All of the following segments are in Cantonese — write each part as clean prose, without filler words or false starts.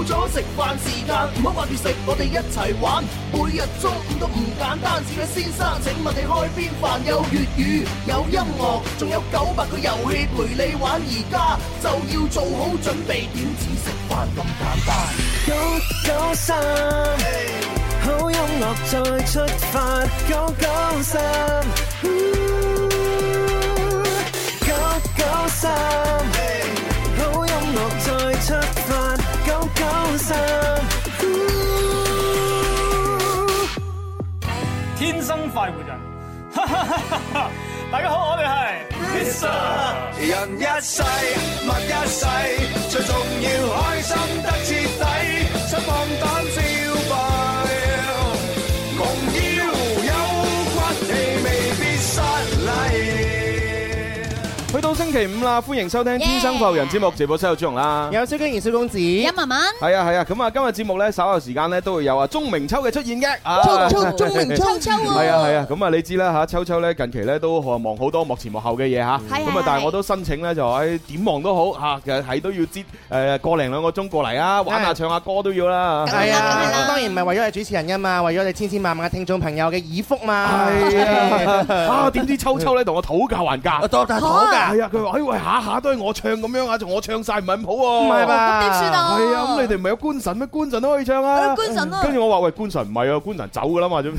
咗食飯時間，唔好掛住食，我哋一齊玩。每日中午都唔簡單，小嘅先生請問你開邊飯？有粵語，有音樂，仲有900個遊戲陪你玩。而家就要做好準備，點止食飯咁簡單？993，好音樂再出發，993，993，好音樂再出發，993。 天生快活人，大家好，我哋係 Mr. 人一世物一世，最重要開心得徹底，出放膽消費，夢要有骨氣，未必失禮。 去到星期五啦，歡迎收聽《天生快活人》節目，直播室有朱紅啦， 有蕭敬堯、蕭公子、 一文文， 係啊，咁啊，今日節目咧稍後時間咧都會有啊鐘明秋嘅出現嘅， 鐘明秋係啊，咁啊你知啦嚇，秋秋咧近期咧都忙好多幕前幕後嘅嘢嚇，咁啊但係我都申請咧就喺點忙都好嚇，其實係都要擠個零兩個鐘過嚟啊，玩下唱下歌都要啦， 係啊，當然唔係為咗你主持人噶嘛，為咗你千千萬萬嘅聽眾朋友嘅耳福嘛， 係啊，點知秋秋咧同我討價還價， 討價， 係啊，佢話喂下下都係我唱咁樣啊，我唱晒唔係咁好喎， 唔係吧？ 咁點算啊？ 係啊，咁你哋唔係有官神咩？官神都可以唱啊， 官神啊， 跟住我話喂，官神唔係啊，官神走噶啦嘛，唔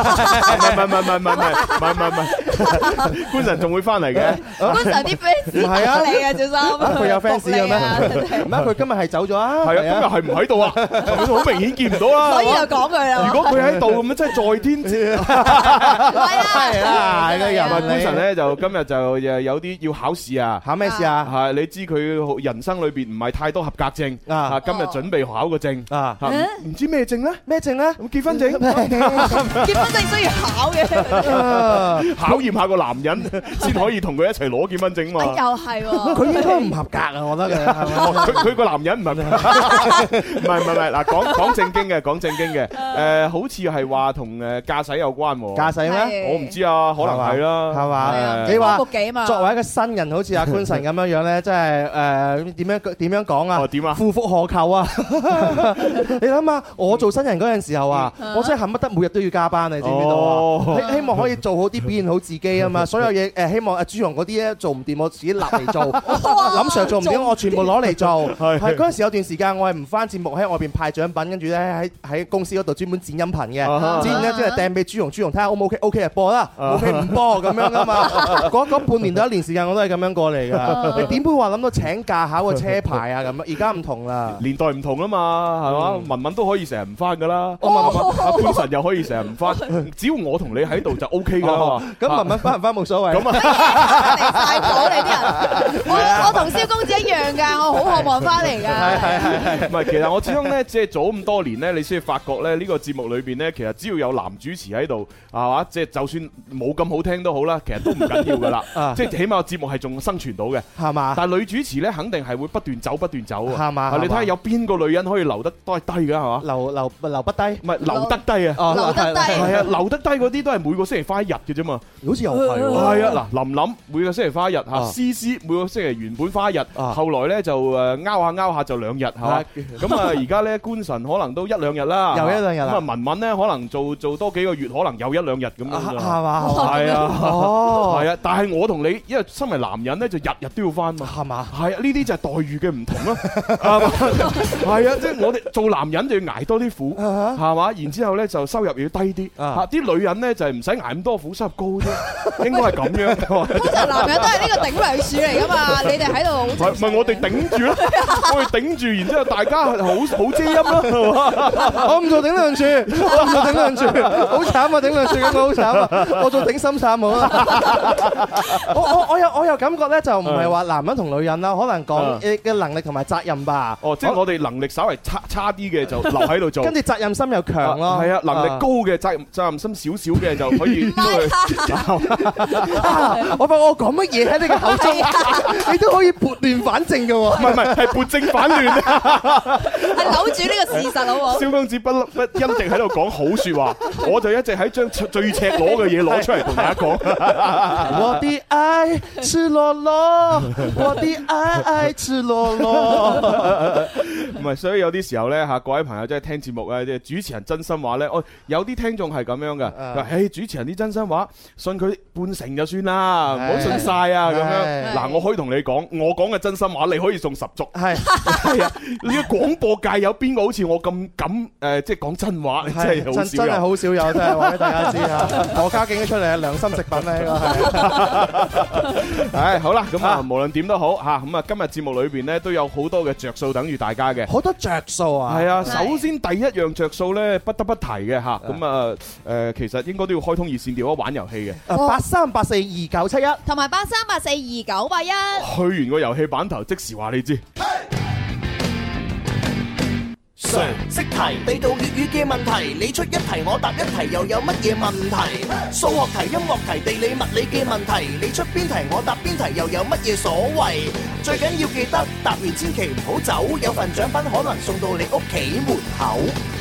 係，官神仲會翻嚟嘅， 官神啲 fans 係啊嚟嘅，小心， 佢有 fans 嘅咩？唔係佢今日係走咗啊， 係啊，今日係唔喺度啊，好明顯見唔到啦， 所以就講佢啦。 如果佢喺度咁樣，真係在天之， 係啊，係個人。 官神咧就今日就有啲要考試啊， 考咩試啊？ 係你知佢人生裏邊唔係太多合格證啊，今日準備考個證啊，唔知咩證咧？ 咩證咧？ 結婚證， 結婚證需要考嘅， 考驗下個男人先可以同佢一齊攞結婚證嘛。 又係喎， 佢應該唔合格啊，我覺得佢個男人唔係，嗱講正經嘅，好似係話同駕駛有關喎。 駕駛咩？ 我唔知啊，可能係啦， 係嘛？你話作為一個新人，好似阿官神咁樣樣咧，真係點樣講啊？ 點啊？ 夫復何求啊！你諗下，我做新人嗰陣時候啊，我真係恨不得每日都要加班，你知唔知道啊？希望可以做好啲，表現好自己啊嘛！所有嘢希望阿朱紅嗰啲咧做唔掂，我自己立嚟做；林 Sir 做唔掂，我全部攞嚟做。係嗰陣時有段時間，我係唔翻節目喺外邊派獎品，跟住咧喺公司嗰度專門剪音頻嘅，剪咧即係掟俾朱紅睇下 O 唔 OK，OK 就播啦，OK 唔播咁樣噶嘛。嗰半年到1年時間我都係咁樣過嚟㗎。你點會話諗到請假考個車牌啊咁？而家唔同啦， 年代唔同啦嘛，係嘛？文文都可以成日唔翻㗎啦，阿官神又可以成日唔翻，只要我同你喺度就 OK 㗎嘛。 咁文文翻唔翻冇所謂。 咁啊， 離曬譜你啲人，我同蕭公子一樣㗎，我好渴望翻嚟㗎。 係，唔係其實我始終咧，即係做咁多年咧，你先發覺咧呢個節目裏邊咧，其實只要有男主持喺度，係嘛？即係就算冇咁好聽都好啦，其實都唔緊要㗎啦。即係起碼個節目係仲生存到嘅，係嘛？但係女主持咧，肯定係會不斷走啊，係嘛？你睇下有邊個女人可以留得都係低㗎，係嘛？ 留不低， 唔係留得低啊！ 留得低係啊，留得低嗰啲都係每個星期花1日嘅啫嘛。 好似又係喎。 係啊，嗱，琳每個星期花1日嚇，思思每個星期原本花1日，後來咧就拗下就2日，係嘛？咁啊，而家咧官神可能都1-2日啦， 又1-2日啦。 咁啊，文文咧可能做多幾個月，可能又1-2日咁樣。 係嘛？ 係啊， 哦， 係啊，但係我同你，因為身為男人咧，就日日都要翻嘛，係嘛？係啊，呢啲就係待遇嘅唔同咯，係啊，即係我哋做男人就要捱多啲苦，係嘛？然之後咧就收入要低啲，嚇啲女人咧就係唔使捱咁多苦，收入高啲，應該係咁樣。 通常男人都係呢個頂梁柱嚟噶嘛，你哋喺度唔係我哋頂住咯，我哋頂住，然之後大家好遮陰咯， 我唔做頂梁柱，好慘啊！頂梁柱咁好慘啊！我做頂心杉好啦。我有感覺咧，就唔係話男人同女人啦，可能講嘅能力同埋責任吧。 哦，即係我哋能力稍為差啲嘅就留喺度做， 跟住責任心又強咯。 係啊，能力高嘅責任心少少嘅就可以出去。 我發覺我講乜嘢喺你嘅口中，你都可以撥亂反正嘅喎。 唔係，係撥正反亂啊！ 係扭住呢個事實好冇？ 蕭公子不一直喺度講好説話，我就一直喺將最赤裸嘅嘢攞出嚟同大家講。 我的愛赤裸裸，我的愛赤裸裸。 唔係，所以有啲時候咧嚇，各位朋友即係聽節目咧，即係主持人真心話咧，有啲聽眾係咁樣嘅，佢話：誒主持人啲真心話，信佢半成就算啦，唔好信晒啊咁樣。嗱，我可以同你講，我講嘅真心話，你可以送10足。係啊，你嘅廣播界有邊個好似我咁敢即係講真話？真係好少有，真係好少有，真係話俾大家知啊！何家勁出嚟啊，良心食品咧，呢個係。唉，好啦，咁啊，無論點都好嚇，咁啊，今日節目裏邊咧都有好多嘅着數等住大家嘅。好多着數啊！係啊，首先第一樣着數咧，不得不提嘅嚇，咁啊其實應該都要開通熱線電話玩遊戲嘅。83842971 同埋83842981。 去完個遊戲版頭，即時話你知。 常識題，地道粵語嘅問題，你出一題我答一題，又有乜嘢問題？數學題、音樂題、地理物理嘅問題，你出邊題我答邊題，又有乜嘢所謂？最緊要記得答完千祈唔好走，有份獎品可能送到你屋企門口。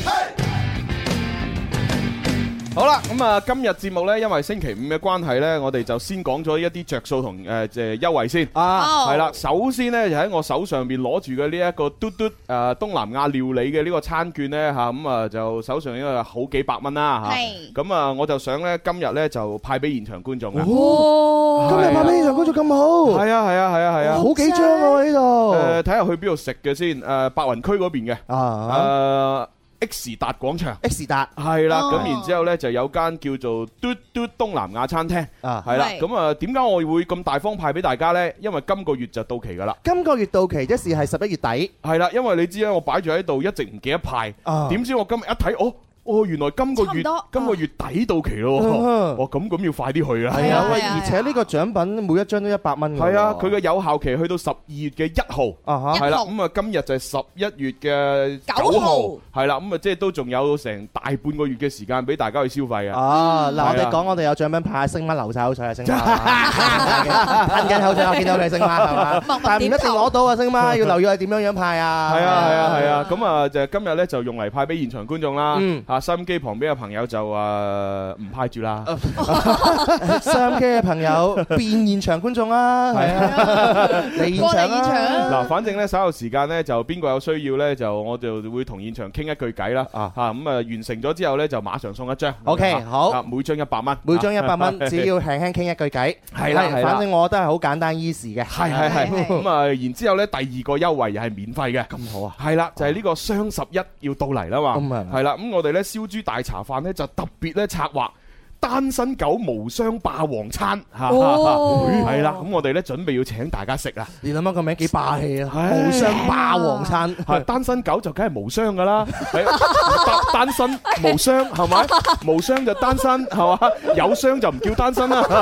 好啦，咁啊，今日節目呢，因為星期五嘅關係呢，我哋就先講咗一啲着數同優惠先。係啦，首先呢，就喺我手上邊攞住嘅呢一個嘟嘟東南亞料理嘅呢個餐券呢，嚇，咁啊就手上應該有好幾百蚊啦嚇。咁啊，我就想呢，今日呢，就派俾現場觀眾啊。今日派俾現場觀眾咁好？係啊，好幾張喎呢度。睇下去邊度食嘅先。白雲區嗰邊嘅。X 達廣場 ，X 達係啦，咁然之後咧就有間叫做嘟嘟東南亞餐廳，係啦，咁啊點解我會咁大方派俾大家咧？因為今個月就到期噶啦，今個月到期即係11月底，係啦，因為你知咧，我擺住喺度一直唔記得派，點知我今日一睇，原來今個月底到期咯，咁要快啲去啦。係啊，而且呢個獎品每一張都100蚊。係啊，佢嘅有效期去到12月嘅1號，係啦，咁啊今日就係11月嘅9號，係啦，咁啊即係都仲有成大半個月嘅時間俾大家去消費啊。嗱，我哋講我哋有獎品派，星媽流晒口水啊，星媽，噴緊口水，我見到你星媽係嘛，但係唔一定攞到啊，星媽要留意係點樣樣派啊。係啊，咁啊就今日咧就用嚟派俾現場觀眾啦。收音機旁邊嘅朋友就唔派住啦。收音機嘅朋友變現場觀眾啦，係啊，嚟現場啦。嗱，反正咧稍後時間咧就邊個有需要咧，就我就會同現場傾一句偈啦。咁啊完成咗之後咧就馬上送一張。OK， 好，每張100蚊，每張100蚊，只要輕輕傾一句偈。係啦，反正我覺得係好簡單 easy 嘅。係。咁啊，然之後咧第二個優惠又係免費嘅。咁好啊。係啦，就係呢個雙11要到嚟啦嘛。係啦，咁我哋咧燒豬大茶飯咧就特別咧策劃單身狗無雙霸王餐，係啦，咁我哋咧準備要請大家食啦。你諗下個名幾霸氣啊！無雙霸王餐，單身狗就梗係無雙噶啦，單身無雙係咪？無雙就單身係嘛？有雙就唔叫單身啦。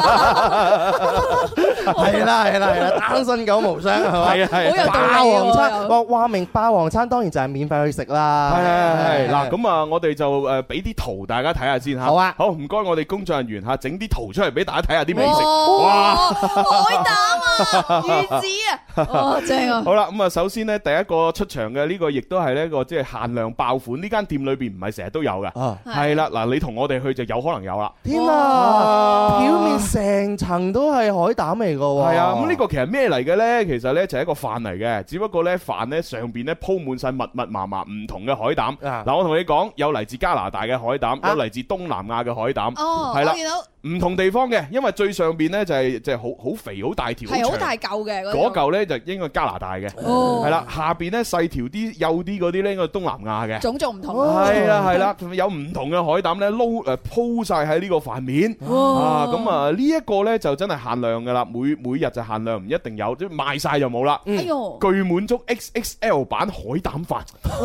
係啦，單身狗無雙係嘛？係霸王餐，話明霸王餐當然就係免費去食啦。係嗱，咁啊，我哋就俾啲圖大家睇下先吓。好啊，好唔該，我哋工作人員吓整啲圖出嚟俾大家睇下啲美食。哇，海膽啊，魚子啊，正啊！好啦，咁啊，首先呢，第一個出場嘅呢個亦都係呢個即係限量爆款，呢間店裏邊唔係成日都有嘅。係啦，嗱，你同我哋去就有可能有啦。天啊，表面成層都係海膽嚟噶。係啊，咁呢個其實咩嚟嘅咧？其實咧就係一個飯嚟嘅，只不過咧飯咧上邊咧鋪滿晒密密麻麻唔同嘅海膽。嗱，我同你講，有嚟自加拿大嘅海膽，有嚟自東南亞嘅海膽。係啦，唔同地方嘅，因為最上邊咧就係好肥好大條，係好大嚿嘅嗰嚿咧就應該加拿大嘅，係啦，下邊咧細條啲幼啲嗰啲咧應該東南亞嘅，種族唔同，係啦，有唔同嘅海膽咧鋪晒喺呢個飯面，咁啊呢一個咧就真係限量噶啦，每日就限量，唔一定有，即係賣晒就冇啦。巨滿足 XXL 版海膽飯，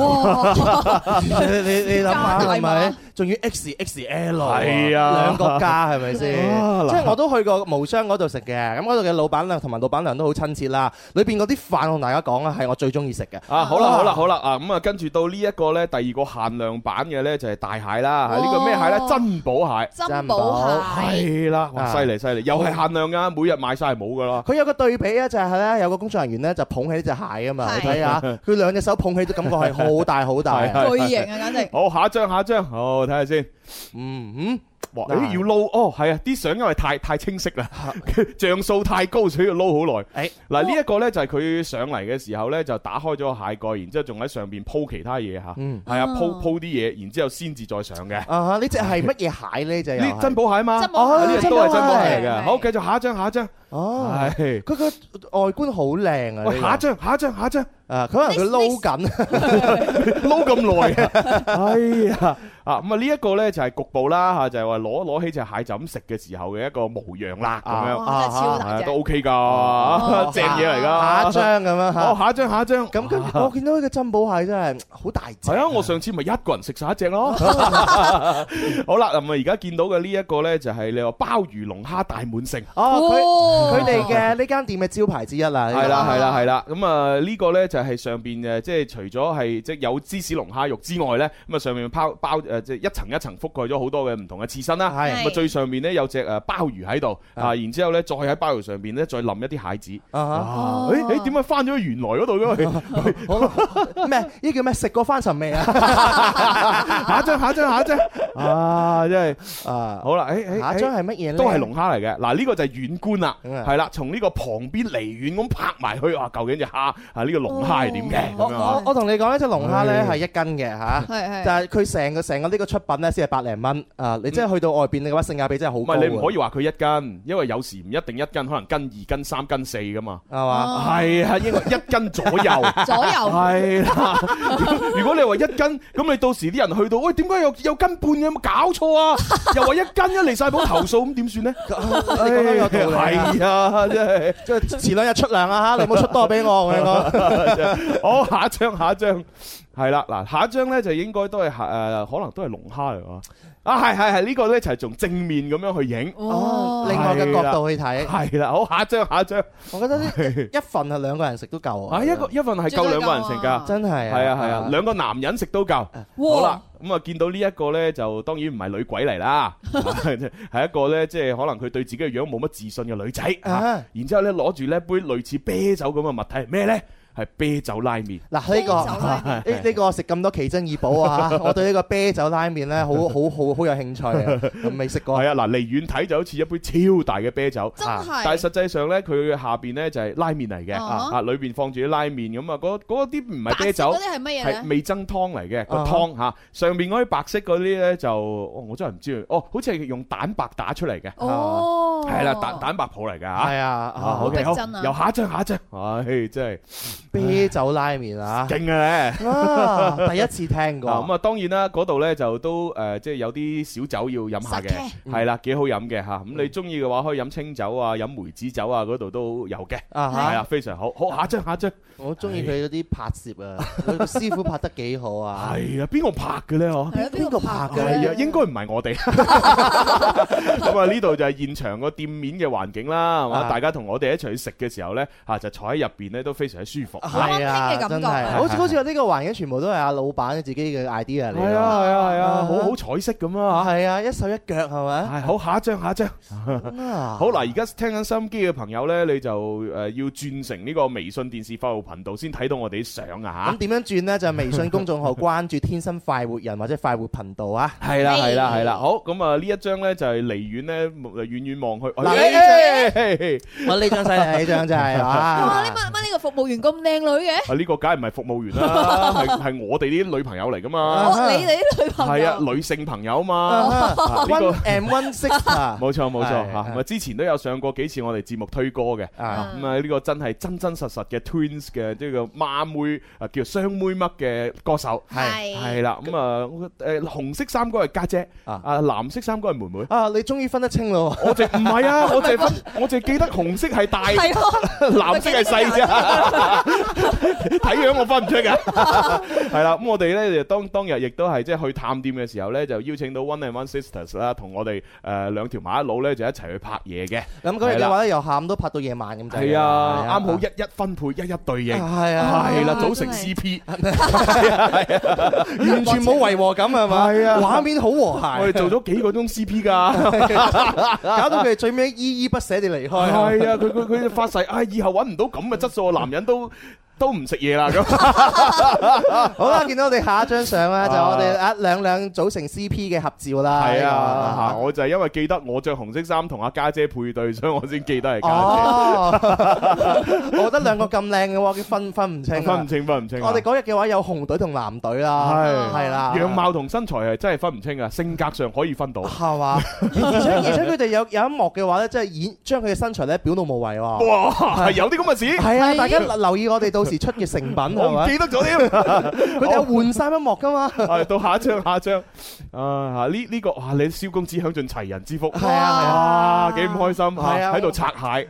你諗下係咪？仲要 XXL， 係啊，兩個加係咪先？即係我都去過無雙嗰度食嘅，咁嗰度嘅老闆娘同埋老闆娘都好親切啦。裏邊嗰啲飯同大家講啊，係我最中意食嘅。好啦啊，咁啊跟住到呢一個咧，第二個限量版嘅咧就係大蟹啦。呢個咩蟹咧？珍寶蟹。珍寶蟹係啦，哇，犀利，又係限量噶，每日賣晒係冇噶啦。佢有個對比啊，就係咧有個工作人員咧就捧起呢隻蟹啊嘛，你睇下佢兩隻手捧起都感覺係好大好大，巨型啊簡直。好，下一張，好睇下先。 哇！要撈哦，係啊，啲相因為太清晰啦，像素太高，所以要撈好耐。嗱呢一個咧就係佢上嚟嘅時候咧，就打開咗個蟹蓋，然之後仲喺上邊鋪其他嘢嚇，係啊鋪啲嘢，然之後先至再上嘅。 呢隻係乜嘢蟹咧？就呢珍寶蟹嘛，呢啲都係珍寶蟹嚟嘅。好，繼續下一張。 哦，係佢個外觀好靚啊！ 喂，下一張。 佢可能佢撈緊， 撈咁耐啊！哎呀，咁啊呢一個咧就係局部啦嚇，就係話攞起隻蟹就咁食嘅時候嘅一個模樣啦，咁樣真係超大隻， 都 OK 㗎，正嘢嚟㗎。 下一張咁樣嚇， 好，下一張。 咁跟我見到呢個珍寶蟹真係好大隻。係啊，我上次咪一個人食晒一隻咯。好啦，咁啊而家見到嘅呢一個咧就係你話鮑魚龍蝦大滿城。 佢哋嘅呢間店嘅招牌之一啦。 係啦。咁啊呢個咧就係上邊誒，即係除咗係即係有芝士龍蝦肉之外咧，咁啊上面包即係一層一層覆蓋咗好多嘅唔同嘅刺身啦。咁啊最上面咧有隻誒鮑魚喺度啊，然之後咧再喺鮑魚上邊咧再淋一啲蟹子。點解翻咗去原來嗰度嘅？ 咩？呢叫咩？食過翻尋味啊！ 下一張。啊，真係好啦， 下一張係乜嘢咧？ 都係龍蝦嚟嘅。嗱呢個就係遠觀啦，係啦，從呢個旁邊離遠咁拍埋去，哇！究竟隻蝦呢個龍蝦係點嘅？ 我同你講呢隻龍蝦咧係1斤嘅嚇，但係佢成個呢個出品咧先係百零蚊啊！你真係去到外邊嘅話，性價比真係好高。 唔係你唔可以話佢1斤，因為有時唔一定1斤，可能斤2斤3斤4噶嘛， 係嘛？ 係啊，應該1斤左右。係啦。如果你話1斤，咁你到時啲人去到，喂，點解有斤半嘅？有冇搞錯啊？又話1斤，離曬譜投訴，咁點算咧？ 你講得有道理。 係啊，真係即係前2日出糧啊嚇！你唔好出多俾我，我同你講。 好，下一張係啦，嗱下一張咧就應該都係可能都係龍蝦嚟㗎。係呢個咧就係從正面咁樣去影， 另外嘅角度去睇。 係啦，好，下一張。 我覺得呢一份係2個人食都夠啊！ 一份係夠2個人食㗎， 真係。 係啊，2個男人食都夠。好啦，咁啊見到呢一個咧就當然唔係女鬼嚟啦，係一個咧即係可能佢對自己嘅樣冇乜自信嘅女仔。然之後咧攞住呢杯類似啤酒咁嘅物體係咩咧？係啤酒拉麵。嗱呢個食咁多奇珍異寶啊！我對呢個啤酒拉麵咧好有興趣啊！未食過。 係啊，嗱離遠睇就好似一杯超大嘅啤酒， 真係。 但係實際上咧，佢下邊咧就係拉麵嚟嘅，裏邊放住啲拉麵咁啊，嗰啲唔係啤酒， 嗰啲係乜嘢咧？ 係味噌湯嚟嘅個湯嚇，上邊嗰啲白色嗰啲咧就我真係唔知好似係用蛋白打出嚟嘅。係啦，蛋白泡嚟㗎嚇。 係啊， 好嘅，好，又下一張，唉，真係。 啤酒拉麵啊， 勁嘅咧，第一次聽過。 咁啊，當然啦，嗰度咧就都即係有啲小酒要飲下嘅，係啦，幾好飲嘅嚇。咁你中意嘅話，可以飲清酒啊，飲梅子酒啊，嗰度都有嘅。係啊，非常好。好，下一張。 我中意佢嗰啲拍攝啊，佢師傅拍得幾好啊。 係啊，邊個拍嘅咧？嗬？ 邊個拍嘅？ 係啊，應該唔係我哋。咁啊，呢度就係現場個店面嘅環境啦，係嘛？大家同我哋一齊去食嘅時候咧，就坐喺入邊咧都非常之舒服。 係啊，真係， 好似話呢個環境全部都係阿老闆自己嘅 idea 嚟。 係啊，好彩色咁啊嚇。 係啊，一手一腳係咪？ 係好，下一張。好嗱，而家聽緊收音機嘅朋友咧，你就要轉成呢個微信電視快活頻道先睇到我哋啲相啊嚇。咁點樣轉呢？就係微信公眾號關注天生快活人或者快活頻道啊。 係啦。好，咁啊呢一張咧就係離遠咧遠望去。 我呢張犀利，呢張真係哇！乜呢個服務員咁靚女嘅？ 呢個梗係唔係服務員啦，係我哋啲女朋友嚟噶嘛。 你哋啲女朋友係啊，女性朋友嘛。 One and one sister。 冇錯嚇。咁啊之前都有上過幾次我哋節目推歌嘅。咁啊呢個真係真實嘅 Twins 嘅呢個孖妹叫雙妹嘜嘅歌手。係啦。咁啊紅色衫嗰係家姐，藍色衫嗰係妹妹。 你終於分得清咯。 我淨唔係啊，我淨記得紅色係大，藍色係細啫。睇樣我分唔出㗎。係啦，咁我哋咧就當日亦都係即係去探店嘅時候咧，就邀請到 One and One Sisters 啦，同我哋兩條麻甩佬咧就一齊去拍嘢嘅。咁嗰日嘅話咧，由下午都拍到夜晚咁滯。 係啊，啱好一分配一對應。係啊，係啦，組成 CP。 完全冇違和感係嘛？係啊，畫面好和諧。 我哋做咗幾個鐘 CP 㗎， 搞到佢哋最尾依依不捨地離開。 係啊，佢發誓，以後揾唔到咁嘅質素嘅男人都都唔食嘢啦咁。 好啦，見到我哋下一張相咧，就我哋兩組成 CP 嘅合照啦。 係啊，我就係因為記得我着紅色衫同阿家姐配對，所以我先記得係家姐。 我覺得兩個咁靚嘅話，分唔清。 分唔清。 我哋嗰日嘅話有紅隊同藍隊啦，係啦。 樣貌同身材係真係分唔清啊，性格上可以分到。係嘛？而且佢哋有一幕嘅話咧，即係將佢嘅身材咧表露無遺喎。哇！ 係有啲咁嘅事。 係啊，大家留意我哋到時出嘅成品係咪？ 我唔記得咗添。 佢哋有換衫一幕噶嘛？ 係到下一張。呢個哇，你蕭公子享盡齊人之福。 係啊， 幾唔開心。係啊，喺度拆蟹。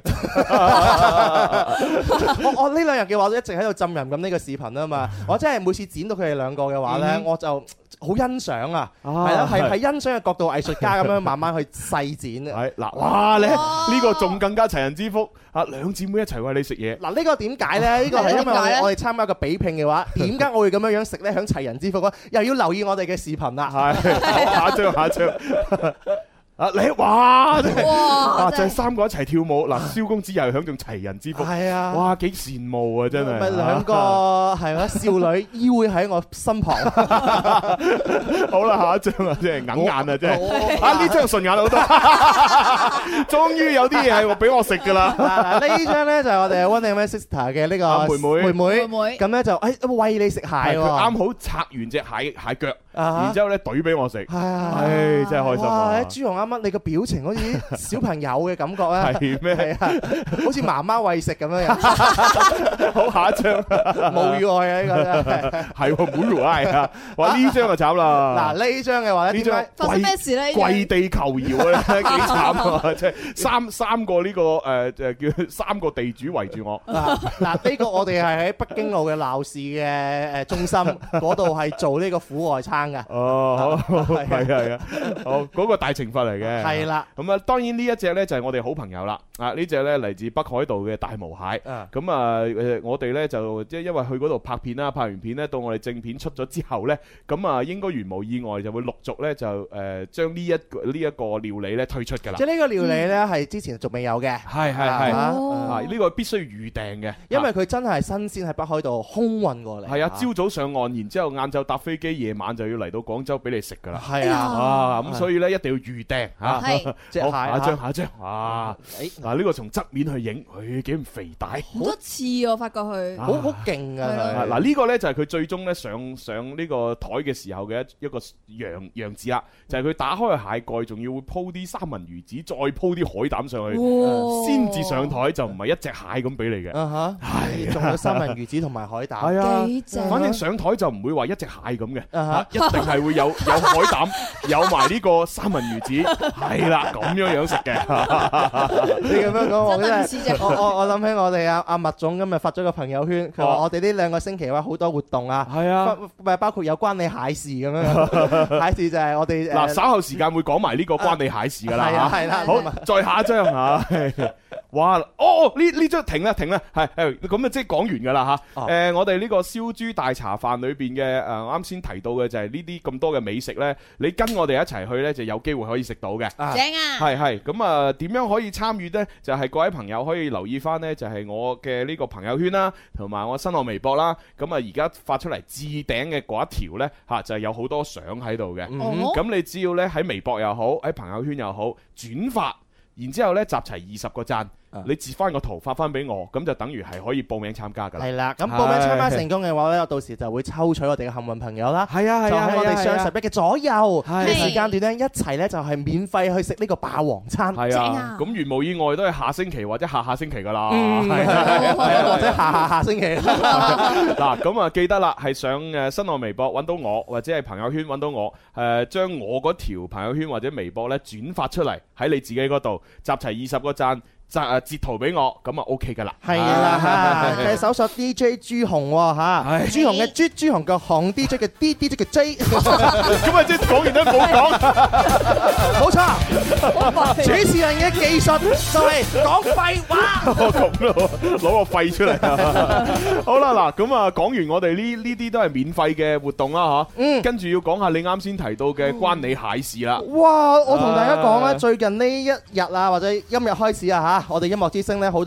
我呢兩日嘅話都一直喺度浸淫咁呢個視頻啊嘛。我真係每次剪到佢哋兩個嘅話咧，我就好欣賞啊。係啦，係欣賞嘅角度，藝術家咁樣慢慢去細剪。 係嗱，哇！你呢個仲更加齊人之福。兩姊妹一齊餵你食嘢。 嗱，呢個點解咧？呢個係因為我哋參加一個比拼嘅話，點解我會咁樣食咧？享齊人之福咧，又要留意我哋嘅視頻啦。 係，下一張。你哇！就係三個一齊跳舞。嗱，蕭公子又係享盡齊人之福。係啊！哇，幾羨慕啊！真係。 咪兩個係嘛少女依偎喺我身旁。 好啦，下一張啊，真係硬眼啊，真係。呢張順眼好多。終於有啲嘢係俾我食㗎啦。 呢張咧就係我哋 One and My Sister 嘅呢個妹妹。咁咧就餵你食蟹喎。佢啱好拆完隻蟹腳，然之後咧懟俾我食。係真係開心啊！ 朱紅啱啱你個表情好似小朋友嘅感覺啊！ 係咩？ 係啊，好似媽媽餵食咁樣。 好，下一張冇語外啊！呢個真係冇語外啊！哇，呢張就慘啦！ 嗱，呢張嘅話咧，點解發生咩事咧？ 跪地求饒啊！幾慘啊！即係三個呢個叫三個地主圍住我。 嗱，呢個我哋係喺北京路嘅鬧市嘅中心嗰度係做呢個苦外餐㗎。 哦，係啊，好嗰個大懲罰嚟嘅。 係啦， 咁啊，當然呢一隻咧就係我哋好朋友啦。呢隻咧嚟自北海道嘅大毛蟹。咁我哋咧就即係因為去嗰度拍片啦，拍完片咧到我哋正片出咗之後咧，咁啊應該如無意外就會陸續咧就將呢一個料理咧推出㗎啦。 即係呢個料理咧係之前仲未有嘅。係呢個必須預訂嘅， 因為佢真係新鮮喺北海道空運過嚟。 係啊，朝早上岸，然之後晏晝搭飛機，夜晚就要嚟到廣州俾你食㗎啦。 係啊， 咁所以咧一定要預訂嚇。好，下一張。嗱，呢個從側面去影，佢幾咁肥大， 好多次我發覺佢好勁啊！ 嗱，呢個咧就係佢最終咧上呢個台嘅時候嘅一個樣子啦，就係佢打開個蟹蓋，仲要會鋪啲三文魚子，再鋪啲海膽上去，先至上台，就唔係一隻蟹咁俾你嘅。 係，仲有三文魚子同埋海膽。 係啊， 幾正。 反正上台就唔會話一隻蟹咁嘅，一定係會有海膽，有埋呢個三文魚子，係啦，咁樣食嘅。 你咁樣講我真係， 我諗起我哋阿麥總今日發咗個朋友圈，佢話我哋呢兩個星期話好多活動啊，係啊，包括有關你蟹事咁樣，蟹事就係我哋嗱稍後時間會講埋呢個關你蟹事噶啦， 係啦， 好，再下一張嚇，哇，呢張停啦，係咁啊，即係講完㗎啦嚇。我哋呢個燒豬大茶飯裏邊嘅啱先提到嘅就係呢啲咁多嘅美食咧，你跟我哋一齊去咧就有機會可以食到嘅。 正啊！ 係咁啊，點樣可以參與呢？就係各位朋友可以留意翻呢，就係我嘅呢個朋友圈啦，同埋我新浪微博啦。咁啊，而家發出嚟置頂嘅嗰一條呢，就係有好多相喺度嘅。咁你只要呢喺微博又好，喺朋友圈又好轉發，然之後呢集齊20個讚。你截翻個圖發翻俾我，咁就等於係可以報名參加㗎啦。係啦，咁報名參加成功嘅話咧，我到時就會抽取我哋嘅幸運朋友啦。 係啊， 就喺我哋雙11嘅左右嘅時間段咧，一齊咧就係免費去食呢個霸王餐。 係啊，咁如無意外都係下星期或者下星期㗎啦。 或者下星期。 嗱，咁啊記得啦，係上新浪微博揾到我，或者係朋友圈揾到我，將我嗰條朋友圈或者微博咧轉發出嚟喺你自己嗰度，集齊20個讚。截圖俾我，咁啊 OK 噶啦。係啦，係搜索 DJ 朱紅嚇，朱紅嘅朱紅嘅紅 DJ 嘅 DJ 嘅 J。 咁啊即係講完都冇講， 冇錯。主持人嘅技術就係講廢話。 咁咯，攞個廢出嚟。好啦，嗱，咁啊講完我哋呢啲都係免費嘅活動啦嚇。跟住要講下你啱先提到嘅關你蟹事啦。 哇！我同大家講咧，最近呢一日啊，或者今日開始啊嚇。我哋音樂之聲咧好多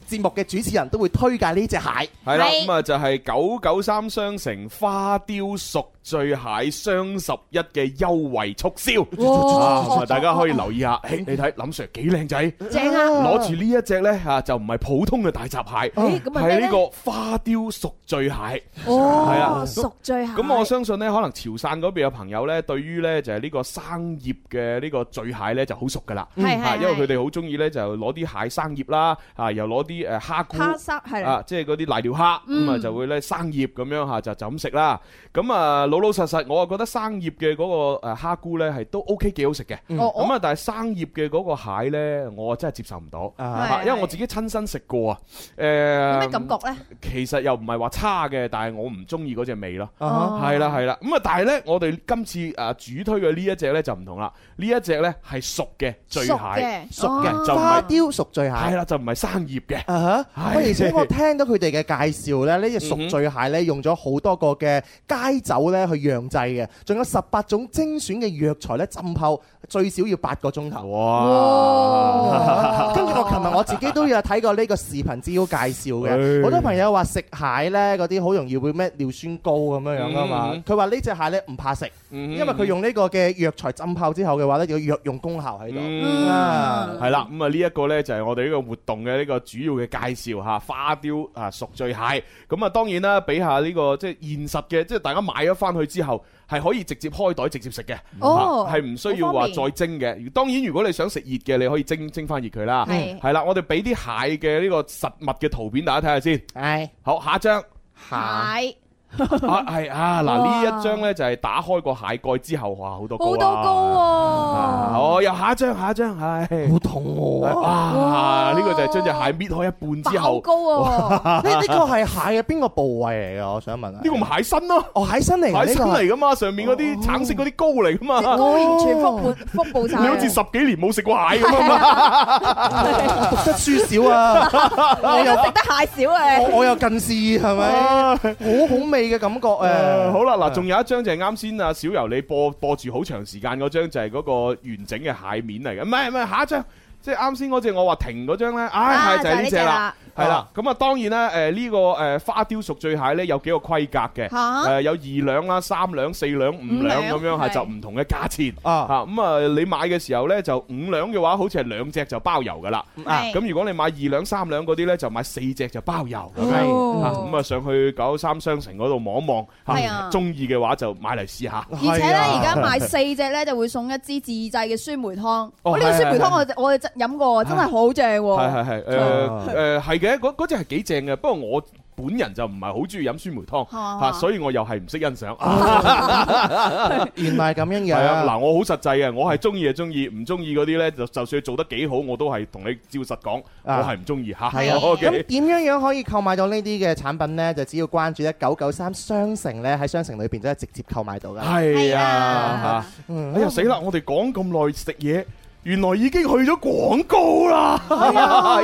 節目嘅主持人都會推介呢隻蟹。 係啦，咁啊就係993商城花雕熟醉蟹雙11嘅優惠促銷。咁啊大家可以留意下，你睇林 Sir 幾靚仔， 正啊！ 攞住呢一隻咧嚇就唔係普通嘅大閘蟹，係呢個花雕熟醉蟹。 哦， 係啊， 熟醉蟹。 咁我相信咧，可能潮汕嗰邊嘅朋友咧，對於咧就係呢個生醃嘅呢個醉蟹咧就好熟噶啦。因為佢哋好中意咧就攞啲蟹生醃啦，又攞啲蝦菇，即係嗰啲瀨尿蝦，咁啊就會咧生醃咁樣嚇就咁食啦。咁啊老實實，我啊覺得生醃嘅嗰個蝦菇咧係都 OK 幾好食嘅。咁啊但係生醃嘅嗰個蟹咧，我真係接受唔到，因為我自己親身食過啊。有咩感覺咧？ 其實又唔係話差嘅，但係我唔中意嗰隻味咯。係啦。咁啊，但係咧，我哋今次主推嘅呢一隻咧就唔同啦。呢一隻咧係熟嘅醉蟹，熟嘅就花雕熟醉蟹。 係啦，就唔係生醃嘅。 而且我聽到佢哋嘅介紹咧，呢隻熟醉蟹咧用咗好多個嘅街酒咧去釀製嘅，仲有18種精選嘅藥材咧浸泡，最少要8個鐘頭。哇！跟住我琴日我自己都有睇過呢個視頻資料介紹嘅，好多朋友話食蟹咧嗰啲好容易會咩尿酸高咁樣啊嘛。佢話呢隻蟹咧唔怕食，因為佢用呢個嘅藥材浸泡之後嘅話咧，有藥用功效喺度。 係啦，咁啊呢一個咧就係我哋呢個活動嘅呢個主要嘅介紹嚇，花雕熟醉蟹。咁啊當然啦，比下呢個即係現實嘅，即係大家買咗翻去之後係可以直接開袋直接食嘅，係唔需要話再蒸嘅。當然如果你想食熱嘅，你可以蒸翻熱佢啦。係啦，我哋俾啲蟹嘅呢個實物嘅圖片大家睇下先。係，好，下一張蟹。 係嗱呢一張咧就係打開個蟹蓋之後，哇好多高啊！ 又下一張，係好痛喎！ 哇，呢個就係將隻蟹搣開一半之後， 高啊！ 呢個係蟹嘅邊個部位嚟㗎？我想問下。呢個咪蟹身咯？ 蟹身嚟， 蟹身嚟噶嘛？上面嗰啲橙色嗰啲膏嚟噶嘛？ 完全腹部晒。 你好似10幾年冇食過蟹咁啊！ 讀得書少啊， 我又食得蟹少啊！ 我又近視係咪？好味嘅感覺誒。 好啦，嗱，仲有一張就係啱先啊小柔你播住好長時間嗰張，就係嗰個完整嘅蟹面嚟嘅。唔係，下一張。即係啱先嗰隻我話停嗰張咧，係就係呢隻啦，係啦。咁啊當然啦，呢個花雕熟醉蟹咧有幾個規格嘅，有2兩啦、3兩、4兩、5兩咁樣，係就唔同嘅價錢。咁啊你買嘅時候咧就5兩嘅話，好似係2隻就包郵噶啦。咁如果你買2兩、3兩嗰啲咧，就買4隻就包郵。咁啊上去993商城嗰度望一望，中意嘅話就買嚟試下。 而且咧而家買4隻咧就會送一支自製嘅酸梅湯。呢個酸梅湯我哋飲過，真係好正喎！係嘅，嗰隻係幾正嘅。不過我本人就唔係好中意飲酸梅湯，所以我又係唔識欣賞。 原來咁樣嘅。 係啊，嗱，我好實際嘅，我係中意就中意，唔中意嗰啲咧就算做得幾好，我都係同你照實講，我係唔中意嚇。 係啊，咁點樣可以購買到呢啲嘅產品咧？就只要關注993商城咧，喺商城裏邊都係直接購買到㗎。 係啊，哎呀死啦！我哋講咁耐食嘢。原來已經去咗廣告啦！係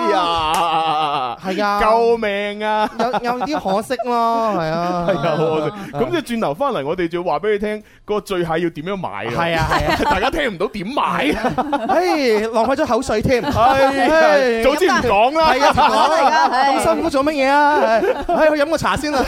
啊，救命啊！ 有啲可惜咯，係啊， 可惜。咁即係轉頭翻嚟，我哋就要話俾你聽，個醉蟹要點樣買啊？係啊，大家聽唔到點買啊？ 浪費咗口水添。 早知唔講啦。 係啊，唔講嚟㗎，咁辛苦做乜嘢啊？去飲個茶先啦。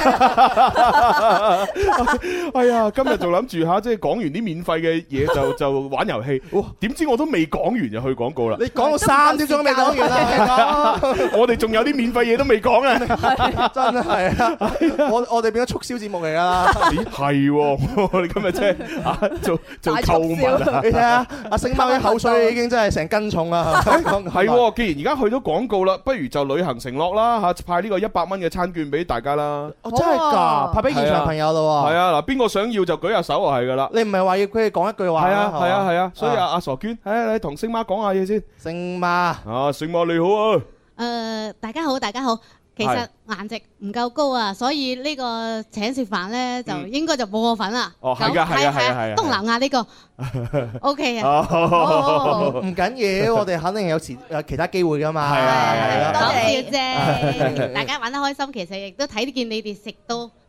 哎呀，今日仲諗住嚇，即係講完啲免費嘅嘢就玩遊戲。點知我都未講完就去廣告啦！ 你講到3點鐘都未講完啦， 我哋仲有啲免費嘢都未講啊！ 真係啊！我哋變咗促銷節目嚟㗎啦！ 咦係喎，我哋今日真係做購物啊！ 你睇下阿星貓啲口水已經真係成斤重啦！ 係喎，既然而家去咗廣告啦，不如就履行承諾啦嚇，派呢個100蚊嘅餐券俾大家啦！ 真係㗎，派俾現場朋友咯喎！ 係啊，嗱，邊個想要就舉下手就係㗎啦！ 你唔係話要佢哋講一句話？ 係啊，所以阿傻娟，你同星媽講下嘢先。 星媽， 星媽你好啊！ 大家好，大家好。其實顏值唔夠高啊，所以呢個請食飯咧就應該就冇我份啦。 哦，係㗎，係。 東南亞呢個 OK 啊。 唔緊要，我哋肯定有其他機會㗎嘛。 係啊， 講笑啫。大家玩得開心，其實亦都睇見你哋食到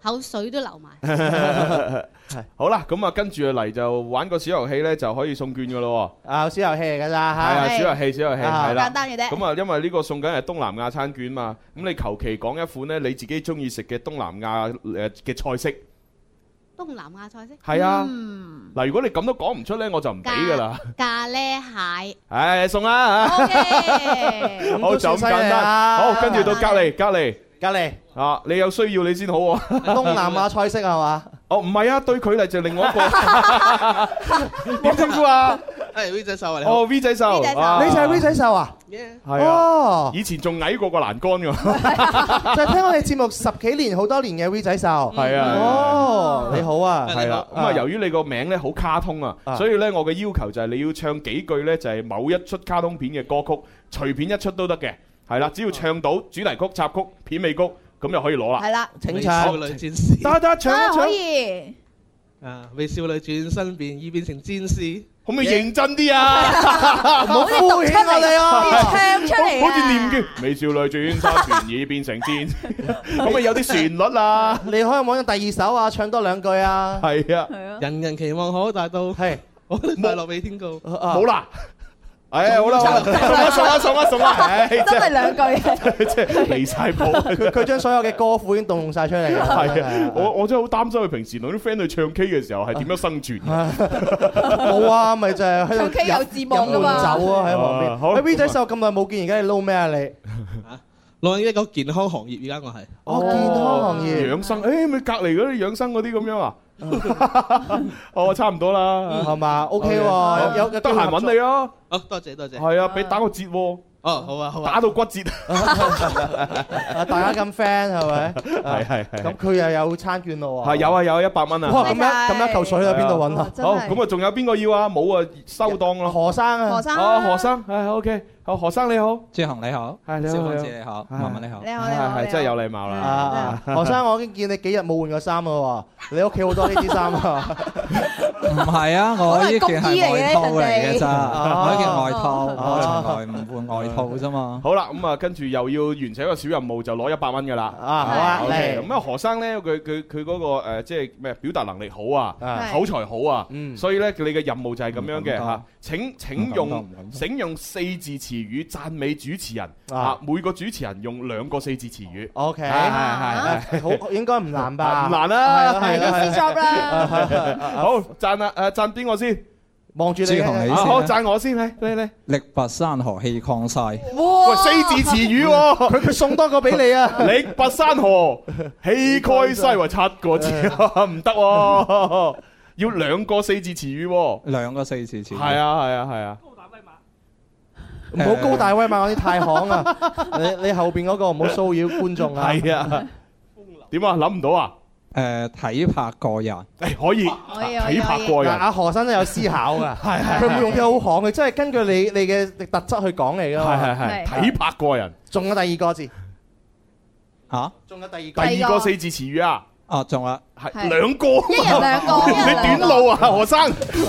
口水都流埋。 好啦，咁啊跟住嚟就玩個小遊戲咧，就可以送券噶咯。 啊，小遊戲嚟㗎咋嚇？ 係啊，小遊戲係啦， 簡單嘅啫。 咁啊，因為呢個送緊係東南亞餐券嘛，咁你求其講一款咧你自己中意食嘅東南亞嘅菜式。 東南亞菜式係啊，嗱，如果你咁都講唔出咧，我就唔俾噶啦。 咖喱蟹， 唉，送啦嚇。 OK， 好就咁簡單。好，跟住到隔離啊，你有需要你先好喎。 東南亞菜式係嘛？ 哦，唔係啊，對佢嚟就另外一個。點稱呼啊？ 係 V 仔秀啊！ 哦 ，V 仔秀， 你就係 V 仔秀啊？ 係啊，以前仲矮過個欄杆㗎。 就係聽我哋節目10幾年好多年嘅 V 仔秀。 係啊。 哦，你好啊。 係啦。咁啊，由於你個名咧好卡通啊，所以咧我嘅要求就係你要唱幾句咧就係某一出卡通片嘅歌曲，隨便一出都得嘅。係啦，只要唱到主題曲、插曲、片尾曲，咁就可以攞啦。 係啦， 請唱。 少女戰士。 得唱一唱。 可以。 啊！為少女轉身已變成戰士。 可唔可以認真啲啊？ 唔好敷衍我哋啊！ 唱出嚟啊！ 好似念經，美少女轉身已變成戰士，咁咪有啲旋律啊！ 你可以揾第二首啊，唱多2句啊！ 係啊， 人人期望可達到， 係我哋快樂比天高。 冇啦。唉，好啦，送啦，唉， 真係2句， 即係離曬譜。 佢將所有嘅歌庫已經動用曬出嚟。 係啊，我真係好擔心佢平時同啲 friend 去唱 K 嘅時候係點樣生存。 冇啊，咪就係喺度唱 K 有字幕㗎嘛。 飲酒啊喺旁邊。 好 V 仔秀咁耐冇見，而家你撈咩啊你？ 攞一個健康行業，而家我係。 哦，健康行業。 養生，誒咪隔離嗰啲養生嗰啲咁樣啊？哦，差唔多啦， 係嘛？OK 喎，有得閒揾你啊！ 好，多謝。 係啊，俾打個折喎。 哦，好啊， 打到骨折。 大家咁 friend 係咪？ 係。 咁佢又有餐券咯喎。 係有啊，有100蚊啊。 哇！咁一嚿水喺邊度揾啊？ 好，咁啊，仲有邊個要啊？冇啊，收檔咯。 何生啊？ 何生，係 OK。好，何生你好， 朱紅你好， 係你好， 小公子你好，文文你好， 你好， 係真係有禮貌啦。 何生，我已經見你幾日冇換過衫咯喎，你屋企好多呢啲衫啊？ 唔係啊，我呢件係外套嚟嘅咋，我呢件外套，我從來唔換外套啫嘛。 好啦，咁啊，跟住又要完成一個小任務，就攞100蚊噶啦。 好啊，嚟。 咁啊，何生咧，佢嗰個即係咩表達能力好啊，口才好啊，所以咧你嘅任務就係咁樣嘅嚇。請用4字詞語讚美主持人啊！每個主持人用2個4字詞語。 OK，係好，應該唔難吧？ 唔難啦， 係啦，easy job 啦。 好，讚啊！讚邊個先？ 望住你。 好，讚我先，嚟。 力拔山河氣抗曬。 喂，4字詞語喎， 佢送多個俾你啊！ 力拔山河氣蓋西，話7個字唔得喎，要2個4字詞語喎。 2個4字詞語。 係啊。 唔好高大威猛嗰啲太行啊！你後邊嗰個唔好騷擾觀眾啊！ 係啊，點啊？諗唔到啊？ 體魄過人。 可以，體魄過人。 阿何生都有思考㗎，佢唔會用啲好行嘅，即係根據你嘅特質去講嚟㗎嘛。 係體魄過人。仲有第2個字嚇？ 仲有第2 個4字詞語啊？ 哦，仲有係2個， 一人2個， 你短路啊，何生？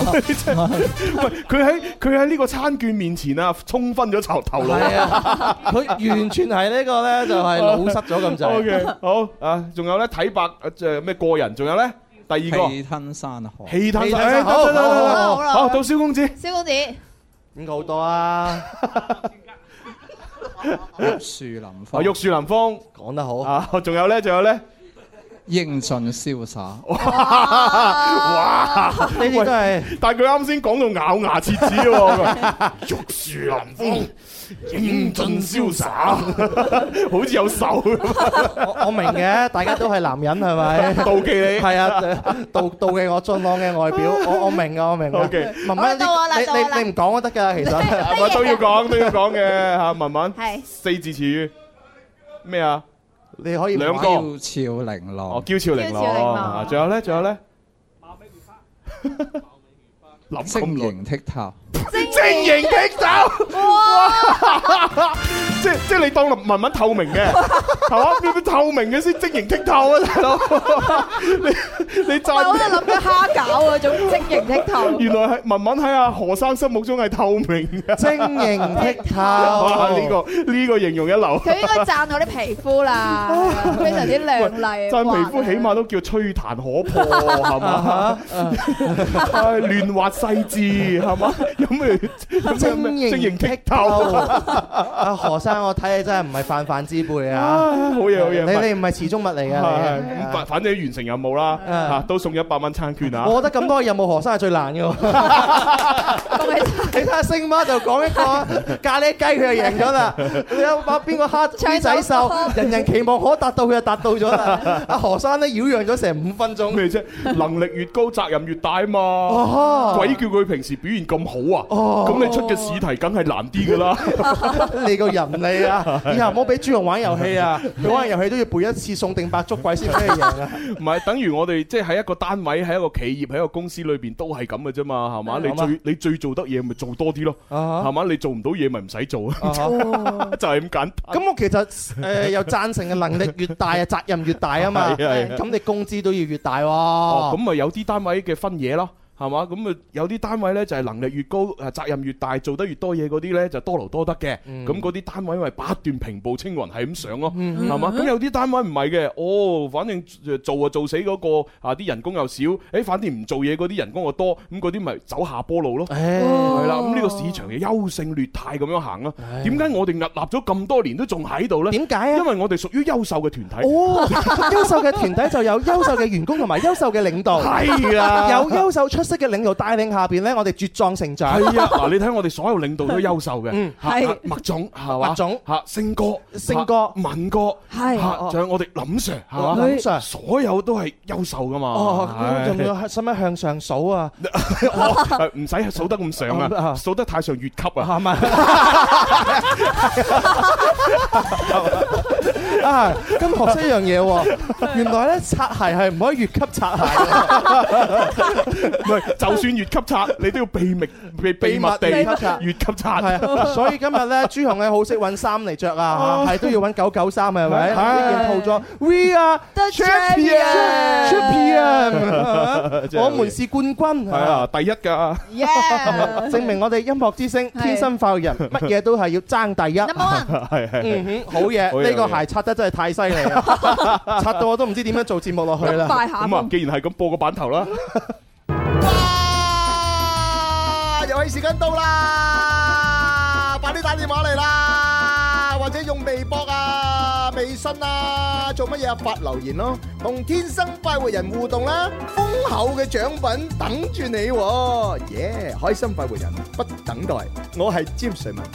佢喺呢個餐券面前啊，衝昏咗頭腦。 係啊，佢完全係呢個咧，就係老失咗咁滯。 OK，好啊，仲有咧體魄咩過人？仲有咧第2個氣吞山河。 氣吞山河。好，到蕭公子。 蕭公子應該好多啊。 玉樹臨風。 玉樹臨風， 講得好啊！仲有咧。 英俊瀟灑， 哇！ 呢啲都係， 但係佢啱先講到咬牙切齒喎，玉樹臨風，英俊瀟灑，好似有手。 我明嘅，大家都係男人係咪？ 妒忌你係啊，妒忌我俊朗嘅外表，我明㗎，我明㗎。 OK， 文文，你唔講都得㗎，其實係咪都要講嘅嚇？文文係 4字詞語咩啊？ 你可以 2個嬌俏玲瓏。 哦，嬌俏玲瓏。仲有咧？諗晶瑩剔透。 晶瑩剔透。哇！即即係你當文文透明嘅，係嘛？邊啲透明嘅先晶瑩剔透啊，大佬！你讚我都諗緊蝦餃嗰種晶瑩剔透。 原來係文文喺阿何生心目中係透明嘅， 晶瑩剔透。 哇！呢個形容一流。 佢應該讚我啲皮膚啦，非常之亮麗。 讚皮膚起碼都叫吹彈可破，係嘛？亂滑細緻，係嘛？有咩晶瑩剔透？阿何生，我睇你真係唔係泛泛之輩啊！ 好嘢好嘢， 你唔係池中物嚟㗎。 咁反正完成任務啦，嚇都送100蚊餐券啊！ 我覺得咁多任務何生係最難嘅。你睇下星媽就講一個咖喱雞，佢就贏咗啦。你有把邊個蝦仔獸，人人期望可達到，佢就達到咗啦。阿何生咧擾攘咗成5分鐘。 咩啫？能力越高，責任越大啊嘛！鬼叫佢平時表現咁好啊！咁你出嘅試題梗係難啲㗎啦。 你個人嚟啊！以後唔好俾朱紅玩遊戲啊！佢玩遊戲都要背一次送定白粥鬼先俾佢贏啊！ 唔係，等於我哋即係喺一個單位、喺一個企業、喺一個公司裏邊都係咁嘅啫嘛，係嘛？你最做得嘢咪做多啲咯，係嘛？你做唔到嘢咪唔使做啊，就係咁簡單。 咁我其實又贊成嘅，能力越大啊，責任越大啊嘛。咁你工資都要越大喎。 咁咪有啲單位嘅分嘢咯。係嘛？咁啊有啲單位咧就係能力越高，責任越大，做得越多嘢嗰啲咧就多勞多得嘅。咁嗰啲單位咪不斷平步青雲係咁上咯，係嘛？咁有啲單位唔係嘅，反正做就做死嗰個啊，啲人工又少，反正唔做嘢嗰啲人工又多，咁嗰啲咪走下坡路咯。係啦，咁呢個市場嘅優勝劣汰咁樣行咯。點解我哋屹立咗咁多年都仲喺度咧？ 點解啊？ 因為我哋屬於優秀嘅團體。 優秀嘅團體就有優秀嘅員工同埋優秀嘅領導。係啊，有優秀出色嘅領導帶領下邊咧，我哋茁壯成長。 係啊，嗱，你睇我哋所有領導都優秀嘅， 係麥總係嘛， 麥總嚇星哥、文哥， 係仲有我哋林 Sir 係嘛， 林 Sir 所有都係優秀噶嘛。 咁仲要使唔使向上數啊？ 唔使數得咁上啊，數得太上越級啊。係咪？ 啊，今學識一樣嘢喎，原來咧擦鞋係唔可以越級擦鞋。 唔係，就算越級擦，你都要秘密地越級擦。 係啊，所以今日咧，朱紅咧好識揾衫嚟着啊，係都要揾993係咪？呢件套裝 We are the champion，我們是冠軍。 係啊，第一㗎。 證明我哋音樂之星天生快活人，乜嘢都係要爭第一。係好嘢，呢個鞋擦得真係太犀利啦，擦到我都唔知點樣做節目落去啦。 咁啊，既然係咁，播個版頭啦。 哇！遊戲時間到啦，快啲打電話嚟啦，或者用微博啊、微信啊，做乜嘢啊？發留言咯，同天生快活人互動啦，豐厚嘅獎品等住你喎！耶！開心快活人不等待，我係詹瑞文。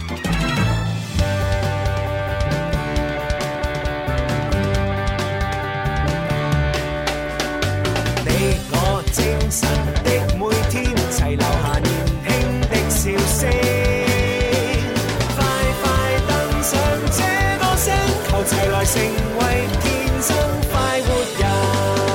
精神的每天，齊留下年輕的笑聲。快快登上這個星球，齊來成為天生快活人。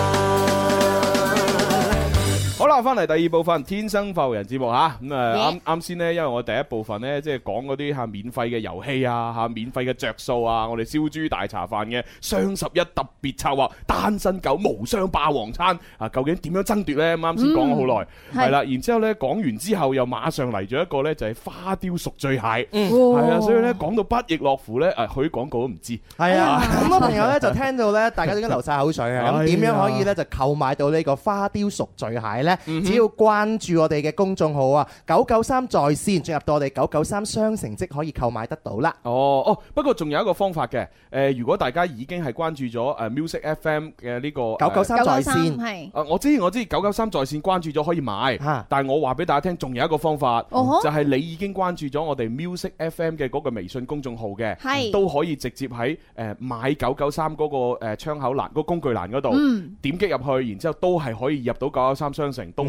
好啦，翻嚟第二部分《天生快活人》節目嚇，咁啱先呢，因為我第一部分呢，即係講嗰啲免費嘅遊戲啊，免費嘅着數啊，我哋燒豬大茶飯嘅雙11特別策劃，單身狗無雙霸王餐啊，究竟點樣爭奪呢？啱先講咗好耐，係啦，然之後呢，講完之後又馬上嚟咗一個呢，就係花雕熟醉蟹，係啊，所以呢，講到不亦樂乎呢，佢廣告都唔知，係啊， 咁多朋友呢，就聽到呢，大家都已經流晒口水啊，咁點樣可以呢，就購買到呢個花雕熟醉蟹呢？只要關注我哋嘅公眾號啊，993在線，進入到我哋993商城即可以購買得到啦。 哦，不過仲有一個方法嘅，如果大家已經係關注咗Music FM 嘅呢個 993在線，係， 我知993在線關注咗可以買，但係我話俾大家聽，仲有一個方法，就係你已經關注咗我哋 Music FM 嘅嗰個微信公眾號嘅，都可以直接喺買993嗰個窗口欄、嗰個工具欄嗰度點擊入去，然之後都係可以入到993商城，都可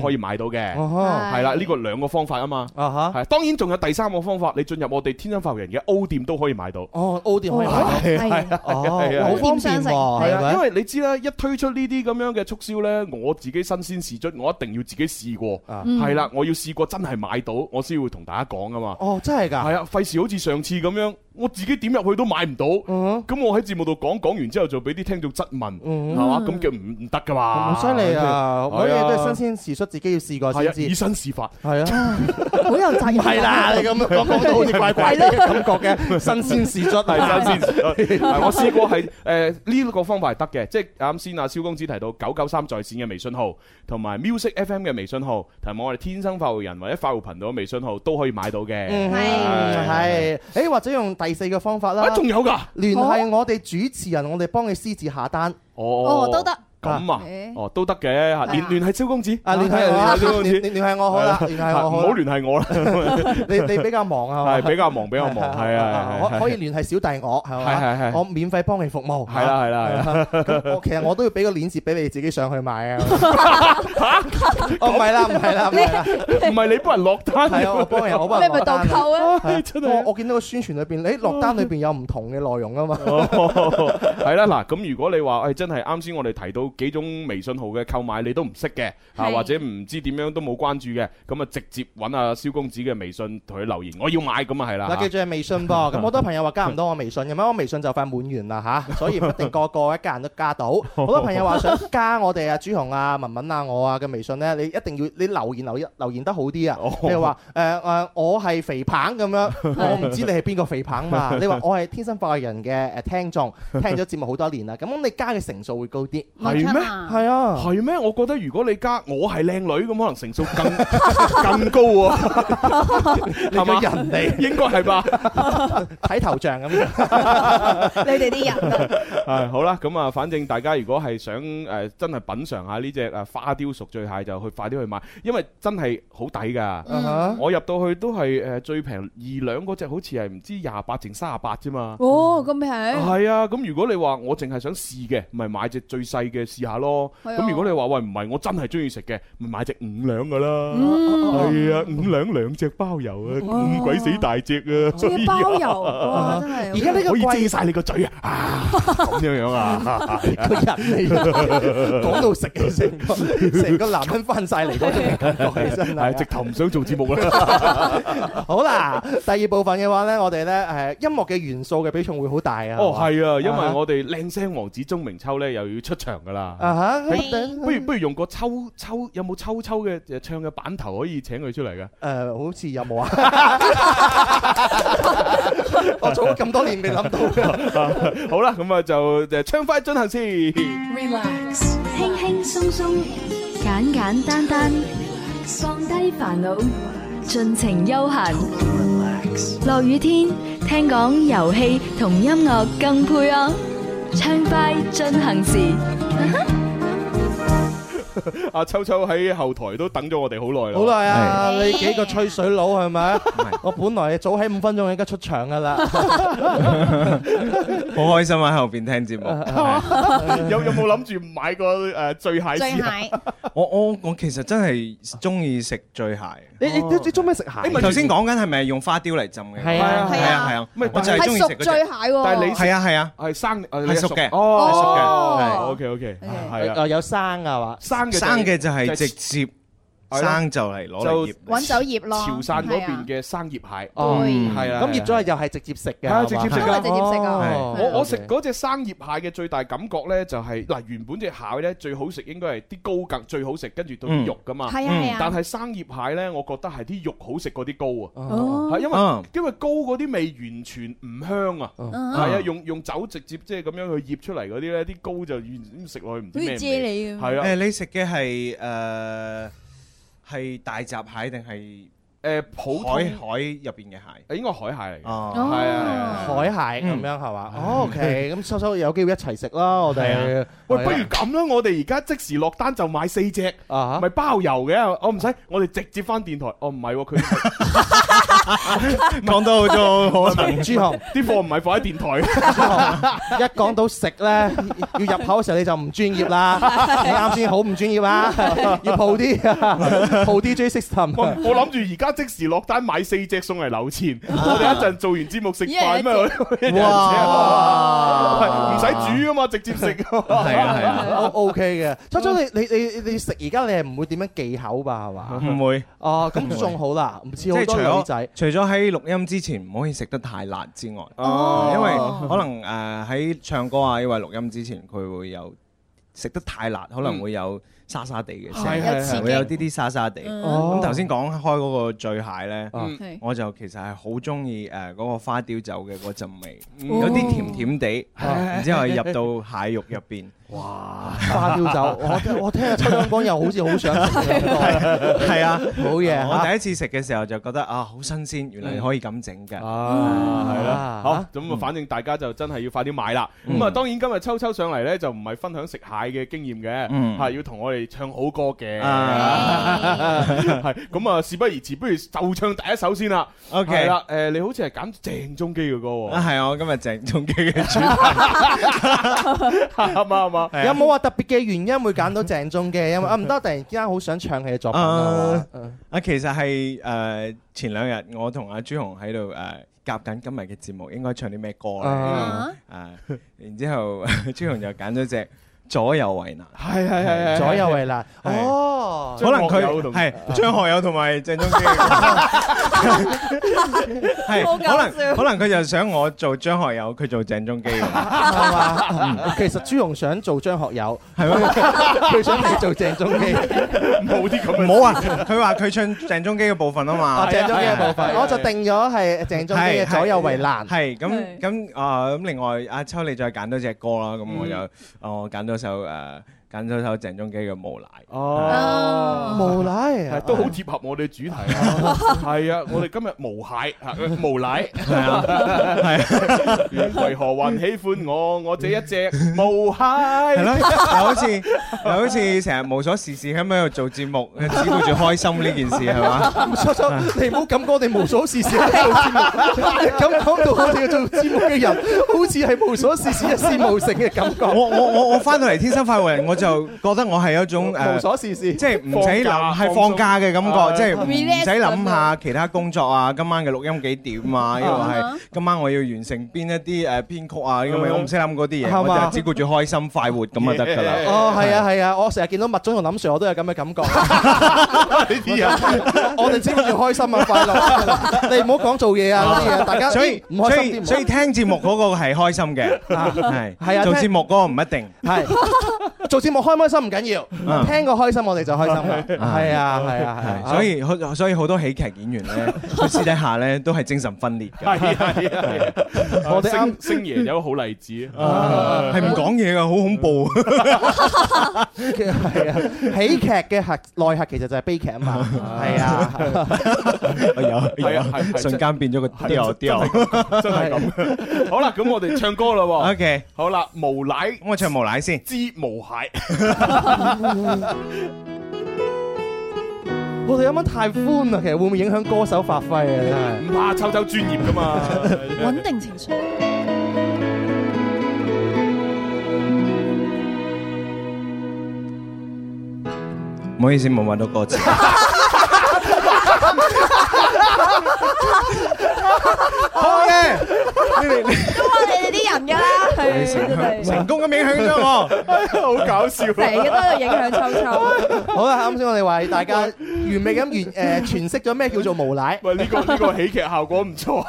可以買到嘅。係啦，呢個兩個方法啊嘛。係，當然仲有第三個方法，你進入我哋天生發育人嘅 O 店都可以買到。 哦，O 店可以買到， 係好方便喎。係啊， 因為你知啦，一推出呢啲咁樣嘅促銷呢，我自己新鮮試出，我一定要自己試過。係啦，我要試過真係買到，我先會同大家講噶嘛。 哦，真係㗎。 係啊，費事好似上次咁樣。我自己點入去都買唔到，咁我喺節目度講完之後就俾啲聽眾質問，係嘛？咁叫唔得噶嘛？ 好犀利啊！嗰啲嘢都係新鮮事出，自己要試過先知。 以身試法，係啊， 好有責任。 係啦，你咁講到好似怪怪嘅感覺嘅，新鮮事出係新鮮事出。我試過係呢個方法係得嘅，即係啱先阿蕭公子提到993在線嘅微信號，同埋 Music FM 嘅微信號，同埋我哋天生發育人或者發育頻道嘅微信號都可以買到嘅。 係，誒或者用第四個方法啦， 仲有㗎， 聯繫我哋主持人，我哋幫你私自下單。 哦，都得。 咁啊，哦都得嘅嚇，聯繫蕭公子， 聯繫我，聯繫我好啦，聯繫我好， 唔好聯繫我啦。 你比較忙啊， 係比較忙，係啊， 可以聯繫小弟我係嘛，係我免費幫你服務。 係啦。 咁其實我都要俾個鏈接俾你自己上去買啊。哦，唔係啦， 唔係你幫人落單， 係啊，我幫人落單。 你咪代購啊？ 真係， 我見到個宣傳裏邊，你落單裏邊有唔同嘅內容啊嘛。 係啦，嗱，咁如果你話真係啱先我哋提到幾種微信號嘅購買你都唔識嘅，或者唔知點樣都冇關注嘅，咁啊直接揾阿蕭公子嘅微信同佢留言，我要買咁啊係啦。 嗱，記住係微信噃，咁好多朋友話加唔到我微信，咁樣我微信就快滿員啦嚇，所以唔一定個一家人都加到。好多朋友話想加我哋啊朱紅啊文文啊我啊嘅微信咧，你一定要你留言得好啲啊。譬如話我係肥棒咁樣，我唔知你係邊個肥棒嘛？你話我係天生發育人嘅聽眾，聽咗節目好多年啦，咁你加嘅成數會高啲。 係咩？ 係啊， 係咩？我覺得如果你加我係靚女咁，可能成數更高喎，係嘛？人哋應該係吧？ 睇頭像咁， 你哋啲人係好啦，咁啊，反正大家如果係想真係品嚐下呢隻花雕熟醉蟹，就快啲去買，因為真係好抵㗎。我入到去都係最平2兩嗰隻，好似係唔知28定38啫嘛。 哦，咁平。 係啊，咁如果你話我淨係想試嘅，咪買隻最細嘅試下咯。咁如果你話喂唔係，我真係中意食嘅，咪買隻5兩㗎啦。係啊，5兩2隻包郵啊，咁鬼死大隻啊！ 仲要包郵，哇！真係。 而家呢個可以遮晒你個嘴啊！咁樣啊， 個人嚟講到食嘅成個男人翻晒嚟嗰種感覺，真係直頭唔想做節目啦。 好啦，第二部分嘅話咧，我哋咧音樂嘅元素嘅比重會好大啊。 哦，係啊，因為我哋靚聲王子鐘明秋咧又要出場噶啦。不如用個秋有冇秋嘅唱嘅版頭可以請佢出嚟嘅？ 好似有冇啊？我做咗咁多年未諗到。 好啦，咁啊就唱快進行先。 Relax， 輕輕鬆鬆，簡簡單單，放低煩惱，盡情悠閒。落雨天，聽講遊戲同音樂更配哦。唱快進行時。 阿秋秋喺後台都等咗我哋好耐啦， 好耐啊！你幾個吹水佬係咪？我本來早喺5分鐘，而家出場噶啦， 好開心喺後邊聽節目。 有冇諗住買個醉蟹？ 醉蟹， 我其實真係中意食醉蟹。 你中咩食蟹？ 頭先講緊係咪用花雕嚟浸嘅？ 係啊， 我就係中意食醉蟹喎。 但係你係啊， 係生係熟嘅， 哦， 係熟嘅。OK，係啊， 有生㗎嘛？ 生嘅就係直接生就嚟攞嚟醃， 揾酒醃咯。 潮汕嗰邊嘅生醃蟹， 係啊，咁醃咗又係直接食嘅， 係直接食㗎， 直接食㗎。 我食嗰隻生醃蟹嘅最大感覺咧，就係嗱，原本隻蟹咧最好食應該係啲膏更最好食，跟住到啲肉㗎嘛。 係啊， 但係生醃蟹咧，我覺得係啲肉好食過啲膏啊。係因為膏嗰啲味完全唔香啊。係啊，用酒直接即係咁樣去醃出嚟嗰啲咧，啲膏就完食落去唔知咩味。係啊， 你食嘅係大閘蟹定係普通海入邊嘅蟹？ 應該海蟹嚟嘅。 係啊，海蟹咁樣係嘛？OK，咁秋秋有機會一齊食啦，我哋。 喂，不如咁啦，我哋而家即時落單就買4隻，咪包郵嘅。我唔使，我哋直接翻電台。哦，唔係喎，佢講到好多可能。 朱紅啲貨唔係放喺電台。 一講到食咧，要入口嘅時候你就唔專業啦。你啱先好唔專業啦，要鋪啲 DJ system。 我諗住而家即時落單買4隻送嚟留錢，我哋一陣做完節目食飯咩？哇！唔使煮啊嘛，直接食。 係啊 ，OK 嘅。秋秋你食而家你係唔會點樣忌口吧？係嘛？ 唔會。 哦，咁仲好啦，唔似好多女仔。 除咗喺錄音之前唔可以食得太辣之外，因為可能喺唱歌啊，因為錄音之前佢會有食得太辣，可能會有沙沙地嘅聲，會有啲沙沙地。咁頭先講開嗰個醉蟹咧，我就其實係好中意嗰個花雕酒嘅嗰陣味，有啲甜甜地，然之後入到蟹肉入邊。 哇！花雕酒，我聽阿秋香講又好似好想食咁。 係啊， 好嘢！ 我第一次食嘅時候就覺得啊，好新鮮，原來可以咁整㗎。 係啦，好咁啊，反正大家就真係要快啲買啦。咁啊，當然今日秋秋上嚟咧就唔係分享食蟹嘅經驗嘅，係要同我哋唱好歌嘅。係咁啊，事不宜遲，不如就唱第一首先啦。 OK， 係啦，你好似係揀鄭中基嘅歌喎。 係啊，我今日鄭中基嘅主題。 啱嘛？ 有冇話特別嘅原因會揀到鄭中基？因為唔得，突然之間好想唱佢嘅作品其實係前兩日我同阿朱紅喺度夾緊今日嘅節目，應該唱啲咩歌咧？然之後朱紅就揀咗隻左右為難， 係左右為難。哦， 可能佢係張學友同埋鄭中基，係可能佢就想我做張學友，佢做鄭中基，係嘛？其實朱紅想做張學友，係咩？佢想你做鄭中基， 冇啲咁。 唔好啊！佢話佢唱鄭中基嘅部分啊嘛， 鄭中基嘅部分，我就定咗係鄭中基嘅左右為難。 係咁另外阿秋你再揀多隻歌啦，咁我就我揀咗首鄭中基嘅《無賴》。 無賴都好貼合我哋主題啊！係啊，我哋今日無蟹無賴，係啊，為何還喜歡我？我這一隻無蟹。係咯，又好似成日無所事事喺度做節目，只顧住開心呢件事係嘛？ 秋秋，你唔好咁講，我哋無所事事喺度做節目，咁講到我哋做節目嘅人，好似係無所事事一事無成嘅感覺。 我翻到嚟天生快活人，我就覺得我係一種無所事事， 即係唔使諗，係放假嘅感覺，即係唔使諗下其他工作啊，今晚嘅錄音幾點啊，因為係今晚我要完成邊一啲編曲啊，因為我唔識諗嗰啲嘢，我就只顧住開心快活咁就得㗎啦。 哦，係啊，我成日見到麥總同林 Sir，我都有咁嘅感覺。 呢啲人， 我哋只顧住開心啊，快樂。你唔好講做嘢啊嗰啲嘢，大家所以聽節目嗰個係開心嘅，係做節目嗰個唔一定係。做節目開唔開心唔緊要，聽個開心我哋就開心啦。係啊， 所以好多喜劇演員咧，佢私底下咧都係精神分裂嘅。 係，我哋星爺有個好例子， 係唔講嘢㗎，好恐怖。 係啊，喜劇嘅內核其實就係悲劇啊嘛。係啊， 有，瞬間變咗個調， 真係咁。好啦，咁我哋唱歌啦喎。 OK， 好啦，無賴， 咁我唱無賴先。 知無蟹。 我哋啱啱太歡啦，其實會唔會影響歌手發揮啊？真係唔怕，秋秋專業噶嘛， 穩定情緒。 唔好意思，冇揾到歌詞。好嘅， 都話你哋啲人㗎啦， 成功咁影響咗我， 好搞笑， 成日都喺度影響秋秋。 好啦，啱先我哋為大家完美咁詮釋咗咩叫做無賴。 喂，呢個喜劇效果唔錯。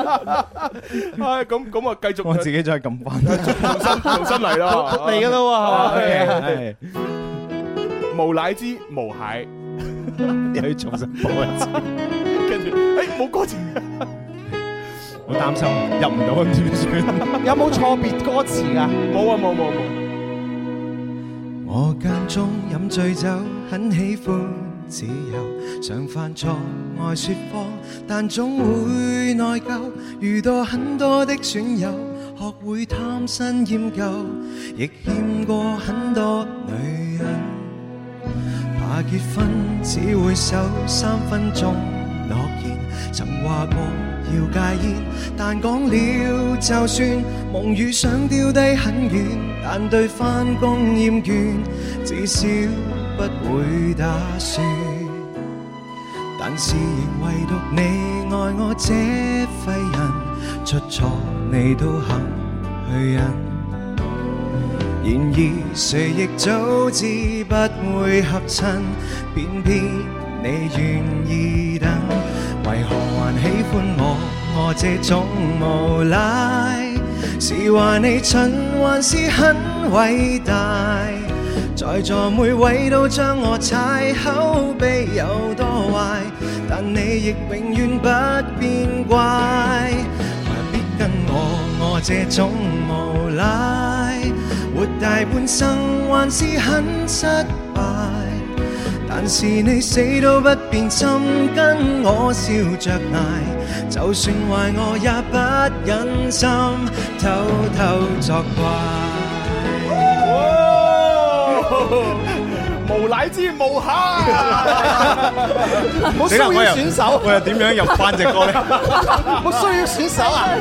咁啊，繼續我自己再撳翻， 重新嚟啦， 嚟㗎啦喎， 係無賴之無蟹， 又要重新播一次， 跟住冇歌詞。 好擔心入唔到咁點算？ 有冇錯別歌詞㗎？ 冇啊，冇。 我間中飲醉酒，很喜歡自由，常犯錯愛説謊，但總會內疚。遇到很多的損友，學會貪新厭舊，亦欠過很多女人。怕結婚只會守3分鐘諾言。 曾話過要戒煙，但講了就算，夢與想丟低很遠，但對返工厭倦，至少不會打算。但是仍唯獨你愛我這廢人，出錯你都肯去忍。然而誰亦早知不會合襯，偏偏你願意等。為何還喜歡我這種無賴？是話你蠢還是很偉大？在座每位都將我踩，口碑有多壞，但你亦永遠不變怪。何必跟我這種無賴？活大半生還是很失敗，但是你死都不變心，跟我笑着捱，就算壞我也不忍心偷偷作怪。 無賴之無瑕， 冇需要選手， 我又點樣入翻隻歌咧？ 冇需要選手啊！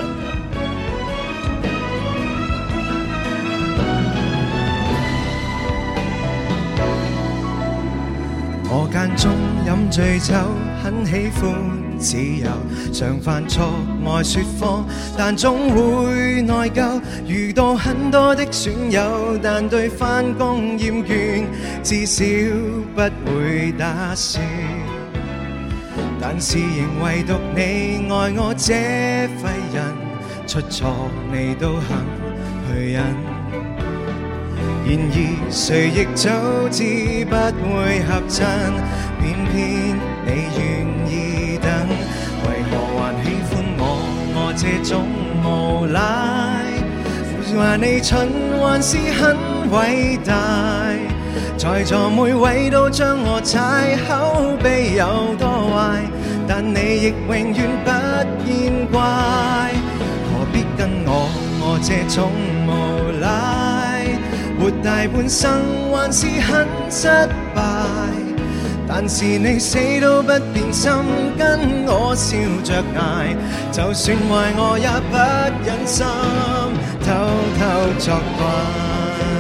我間中飲醉酒，很喜歡自由，常犯錯愛說謊，但總會內疚。遇到很多的損友，但對返工厭倦，至少不會打算。但是仍唯獨你愛我這廢人，出錯你都肯去忍。然而誰亦早知不會合襯，偏偏你願意等。為何還喜歡我這種無賴？話你蠢還是很偉大？在座每位都將我踩，口碑有多壞，但你亦永遠不見怪。何必跟我這種無賴？活大半生還是很失敗，但是你死都不變心，跟我笑着捱，就算壞我也不忍心偷偷作怪。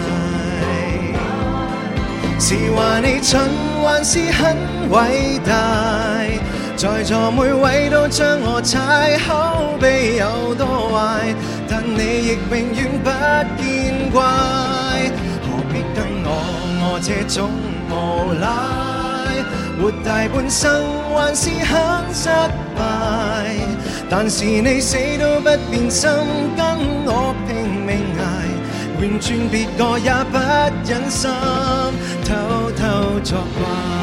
是話你蠢還是很偉大？在座每位都將我踩，口碑有多壞，但你亦永遠不見怪。何必跟我這種無賴？活大半生還是很失敗，但是你死都不變心，跟我拼命捱，換轉別個也不忍心偷偷作怪。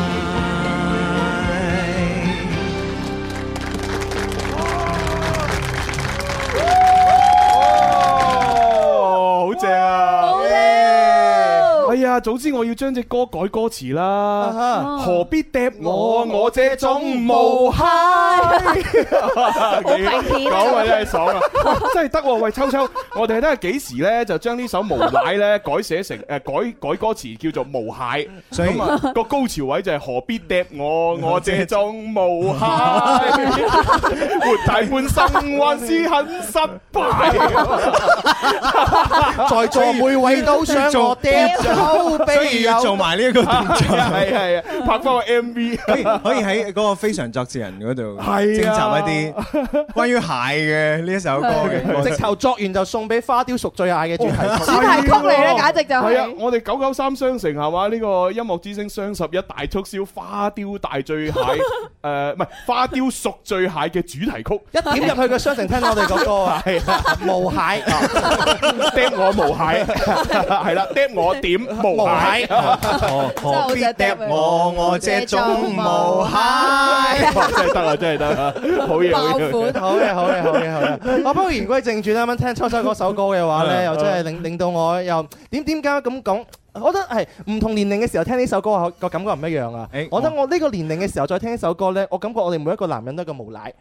正啊！哎呀，早知我要將隻歌改歌詞啦，何必嗒我這種無賴？講啊真係爽啊，真係得喎！喂，秋秋，我哋睇下幾時咧就將呢首無賴咧改寫成改歌詞叫做無蟹，咁啊個高潮位就係何必嗒我這種無賴？活大半生還是很失敗。 在座每位都想我嗒口碑， 所以要做埋呢一個動作， 係拍翻個 MV， 可以喺嗰個非常作詞人嗰度徵集一啲關於蟹嘅呢一首歌嘅， 直頭作完就送俾花雕熟醉蟹嘅主題曲。 主題曲嚟咧，簡直就係。 係啊，我哋993商城係嘛？呢個音樂之星雙11大促銷花雕大醉蟹，唔係花雕熟醉蟹嘅主題曲。 一點入去個商城聽到我哋個歌啊，係無蟹， 嗒我無蟹，係啦，嗒我點無蟹， 何必嗒我這種無蟹？ 真係得啊，真係得啊，好嘢， 好嘢。不過言歸正傳，啱啱聽秋秋嗰首歌嘅話咧，又真係令到我又點解咁講？ 我覺得係唔同年齡嘅時候聽呢首歌個感覺唔一樣啊。我覺得我呢個年齡嘅時候再聽呢首歌咧，我感覺我哋每一個男人都係個無賴。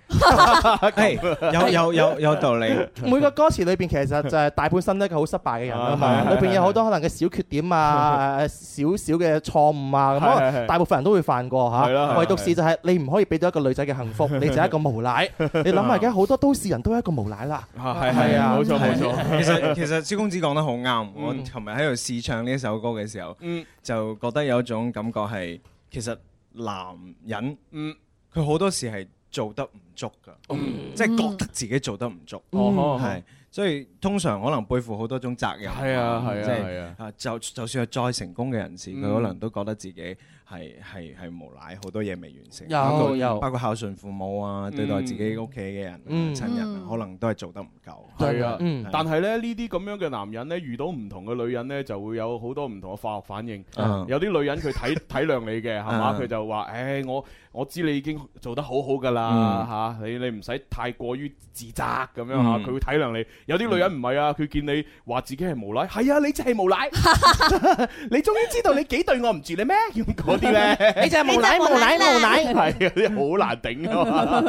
有道理。 每個歌詞裏邊其實就係大半生都係一個好失敗嘅人啊嘛，裏邊有好多可能嘅小缺點啊、少少嘅錯誤啊，咁大部分人都會犯過嚇。唯獨是就係你唔可以俾到一個女仔嘅幸福，你就係一個無賴。你諗下而家好多都市人都係一個無賴啦。 係啊，冇錯冇錯。 其實蕭公子講得好啱。我琴日喺度試唱呢一首歌嘅時候，就覺得有一種感覺係，其實男人佢好多時係做得唔足㗎，即係覺得自己做得唔足，係。所以通常可能背負好多種責任，即係就算係再成功嘅人士，佢可能都覺得自己係無賴，好多嘢未完成，包括孝順父母啊，對待自己屋企嘅人、親人啊，可能都係做得唔夠。 係啊，但係咧呢啲咁樣嘅男人咧，遇到唔同嘅女人咧，就會有好多唔同嘅化學反應。有啲女人佢體諒你嘅，係嘛？佢就話：誒，我知你已經做得好好㗎啦，嚇你唔使太過於自責咁樣嚇，佢會體諒你。有啲女人唔係啊，佢見你話自己係無賴，係啊，你就係無賴，你終於知道你幾對我唔住你咩？嗰啲咧， 你就係無賴， 係啊，啲好難頂啊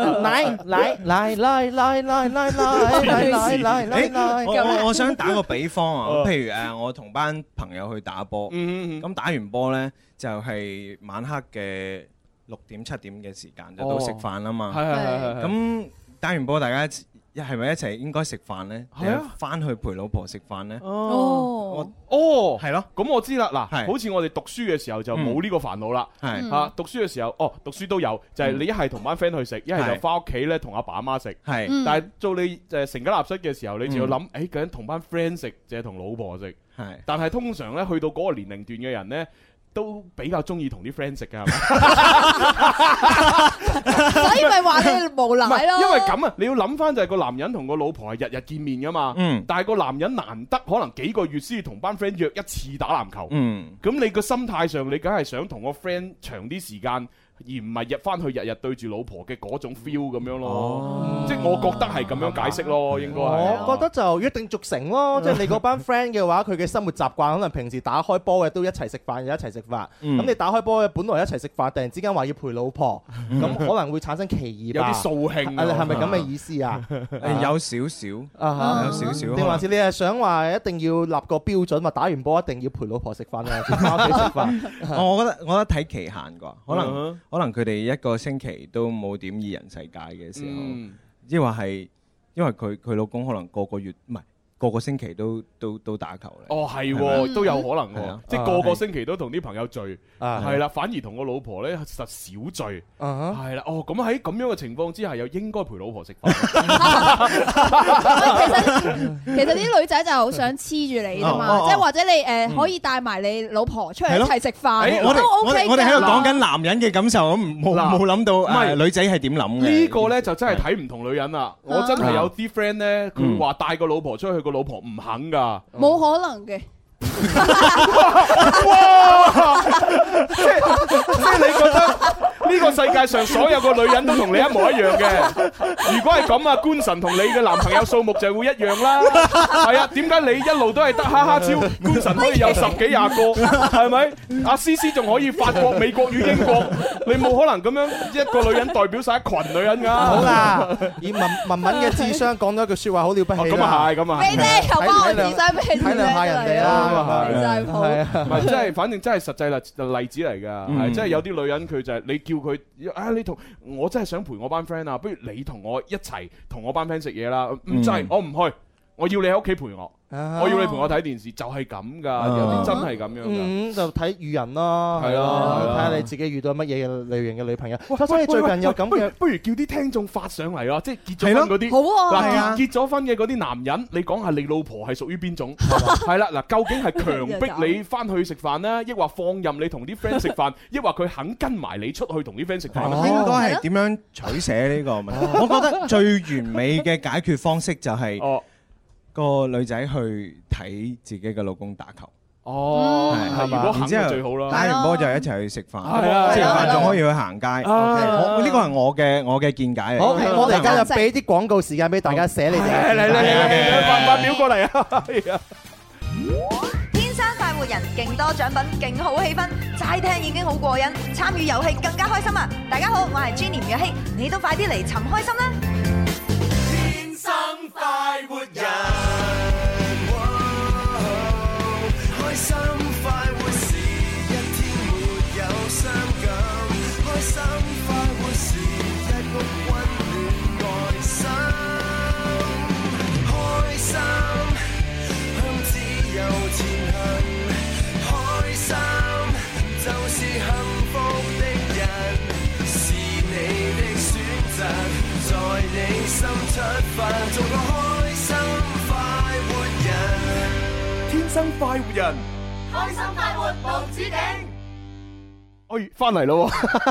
嘛！我想打個比方啊，譬如我同班朋友去打波，咁打完波咧就係晚黑嘅6點7點嘅時間就到食飯啦嘛，咁打完波大家係咪一齊應該食飯咧？係啊，翻去陪老婆食飯咧。 係咯。咁我知啦。嗱，好似我哋讀書嘅時候就冇呢個煩惱啦。係嚇，讀書嘅時候，讀書都有，就係你一係同班 friend 去食，一係就翻屋企咧同阿爸阿媽食。係。但係做你成家立室嘅時候，你就要諗，究竟同班 friend 食，定係同老婆食？係。但係通常咧，去到嗰個年齡段嘅人咧，都比較中意同啲 friend 食㗎，係咪？ 所以咪話你無賴咯。 因為咁啊，你要諗翻就係個男人同個老婆係日日見面㗎嘛。但係個男人難得可能幾個月先同班 friend 約一次打籃球。咁你個心態上，你梗係想同個 friend 長啲時間。而唔係翻去日日對住老婆嘅嗰種 feel 咁樣咯，即係我覺得係咁樣解釋咯，應該係。我覺得就約定俗成咯，即係你嗰班 friend 嘅話，佢嘅生活習慣可能平時打開波嘅都一齊食飯，又一齊食飯。咁你打開波嘅本來一齊食飯，突然之間話要陪老婆，咁可能會產生歧義吧？ 有啲掃興， 係咪咁嘅意思啊？ 有少少，有少少。 定還是你係想話一定要立個標準，話打完波一定要陪老婆食飯啊？翻屋企食飯？ 我覺得睇期限啩，可能佢哋一個星期都冇點二人世界嘅時候，抑或係因為佢老公可能個個月唔係個個星期都打球咧。 哦，係都有可能喎，即係個個星期都同啲朋友聚，係啦，反而同個老婆咧實少聚，係啦。哦，咁喺咁樣嘅情況之下，又應該陪老婆食飯。 其實啲女仔就好想黐住你㗎嘛，即係或者你可以帶埋你老婆出嚟一齊食飯，都 OK。 我哋喺度講緊男人嘅感受，咁冇諗到女仔係點諗嘅。 呢個咧就真係睇唔同女人啦。我真係有啲 friend 咧，佢話帶個老婆出去，個老婆唔肯㗎， 冇可能嘅。 哇！即係你覺得呢個世界上所有個女人都同你一模一樣嘅？如果係咁啊，官神同你嘅男朋友數目就會一樣啦。係啊，點解你一路都係得哈哈超，官神可以有10幾20個，係咪？阿思思仲可以法國、美國與英國，你冇可能咁樣一個女人代表晒一群女人㗎。 好啦，以文嘅智商講咗一句説話，好了不起。 咁啊係，咁啊。 你哋又幫我智商俾你體諒下人哋啦。 真係好， 唔係，即係反正真係實際例子嚟㗎，係即係有啲女人佢就係你叫佢你同我真係想陪我班 friend 啊，不如你同我一齊同我班 friend 食嘢啦，唔制，我唔去，我要你喺屋企陪我。我要你陪我睇電視，就係咁噶，有啲真係咁樣噶， 就睇遇人咯，係咯，睇下你自己遇到乜嘢類型嘅女朋友。 所以最近有咁嘅，不如叫啲聽眾發上嚟啊，即係結咗婚嗰啲， 好啊， 嗱結咗婚嘅嗰啲男人，你講下你老婆係屬於邊種？係啦，嗱，究竟係強迫你翻去食飯呢，抑或放任你同啲 friend 食飯，抑或佢肯跟埋你出去同啲 friend 食飯？ 應該係點樣取捨呢個問題？我覺得最完美嘅解決方式就係個女仔去睇自己嘅老公打球。 哦，係嘛？然之後最好啦， 打完波就一齊去食飯。係啊，食完飯仲可以去行街。呢個係我嘅見解嚟。 好，我哋而家就俾啲廣告時間俾大家寫你哋。 嚟，發表過嚟啊！ 天生快活人， 勁多獎品，勁好氣氛，齋聽已經好過癮，參與遊戲更加開心啊！大家好，我係 Jenny 吳若希，你都快啲嚟尋開心啦！ 天生快活人，開心快活是一天沒有傷感，開心快活是一屋溫暖愛心，開心向自由前行，開心就是幸福的人，是你的選擇，在你心出發，做個開心快活人， 天生快活人， 開心快活無止境。 哎，翻嚟咯！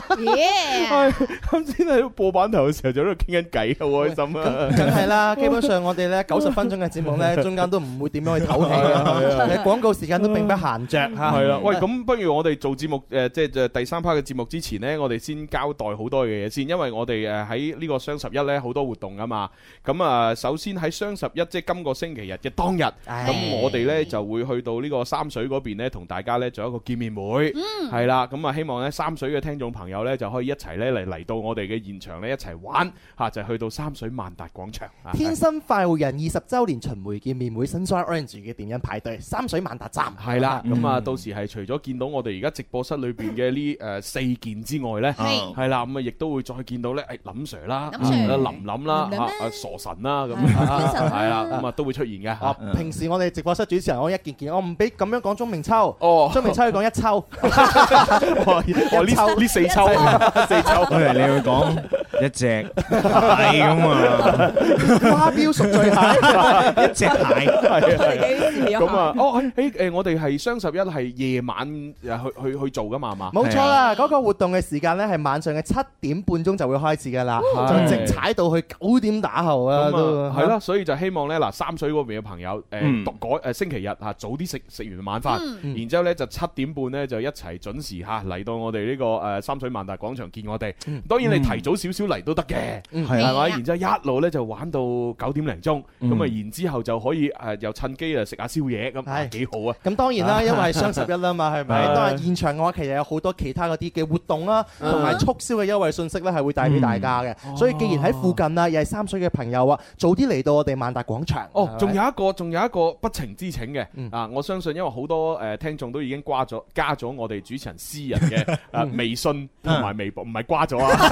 啱先喺播版頭嘅時候就喺度傾緊偈，好開心啊！ 梗係啦，基本上我哋咧90分鐘嘅節目咧，中間都唔會點樣去唞氣嘅，廣告時間都並不閒着嚇。 係啦，喂，咁不如我哋做節目即係第3 part 嘅節目之前呢，我哋先交代好多嘅嘢先，因為我哋喺呢個雙11咧好多活動啊嘛。咁啊，首先喺雙11即係今個星期日嘅當日，咁我哋咧就會去到呢個三水嗰邊咧，同大家咧做一個見面會，係啦，咁啊希望咧三水嘅聽眾朋友咧就可以一齊咧嚟到我哋嘅現場咧一齊玩嚇，就去到三水萬達廣場。 天生快活人20週年巡迴見面會 Sunshine Orange 嘅電音派對，三水萬達站。 係啦，咁啊到時係除咗見到我哋而家直播室裏邊嘅呢4件之外咧，係啦，咁啊亦都會再見到咧林 Sir 啦、林林啦、傻神啦咁，係啦，咁啊都會出現嘅。 平時我哋直播室主持人我一件件，我唔俾咁樣講鐘明秋，鐘明秋要講一秋。 呢4抽，4抽， 我以為你會講一隻係咁啊， 花標贖罪蟹， 一隻蟹， 咁啊，我哋係雙11係夜晚去做噶嘛，係嘛？ 冇錯啦，嗰個活動嘅時間咧係晚上嘅7點半鐘就會開始噶啦，就直踩到去9點打後啊，都係啦，所以就希望咧嗱，三水嗰邊嘅朋友星期日嚇早啲食完晚飯，然之後咧就7點半咧就一齊準時嚇嚟到我哋呢個三水萬達廣場見我哋。當然你提早少少嚟都得嘅，係咪？然之後一路咧就玩到9點零鐘，咁啊然之後就可以又趁機啊食下宵夜，咁幾好啊！ 咁當然啦，因為係雙11啦嘛，係咪？當然現場嘅話，其實有好多其他嗰啲嘅活動啦，同埋促銷嘅優惠信息咧，係會帶俾大家嘅。所以既然喺附近啊，又係三水嘅朋友啊，早啲嚟到我哋萬達廣場。 仲有一個不情之請嘅啊！我相信因為好多聽眾都已經加咗我哋主持人私人嘅微信同埋微博，唔係掛咗啊！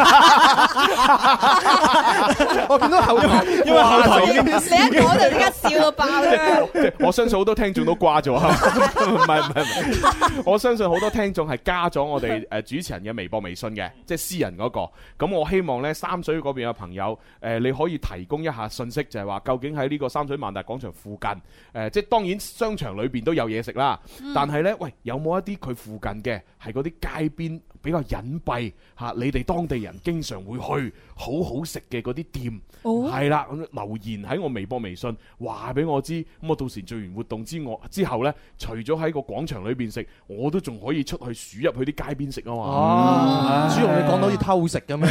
我見到後台， 因為後台已經你一講就即刻笑到爆啦！ 我相信好多聽眾都掛咗，唔係，我相信好多聽眾係加咗我哋主持人嘅微博、微信嘅，即係私人嗰個。咁我希望呢三水嗰邊嘅朋友，你可以提供一下信息，就係話究竟喺呢個三水萬達廣場附近，即係當然商場裏邊都有嘢食啦，但係呢，喂，有冇一啲佢附近嘅係嗰啲街邊比較隱蔽嚇，你哋當地人經常會去好好食嘅嗰啲店，係啦，留言喺我微博、微信話俾我知，咁我到時做完活動之後呢，除咗喺個廣場裏邊食，我都仲可以出去鼠入去啲街邊食啊嘛！ 朱紅你講到好似偷食咁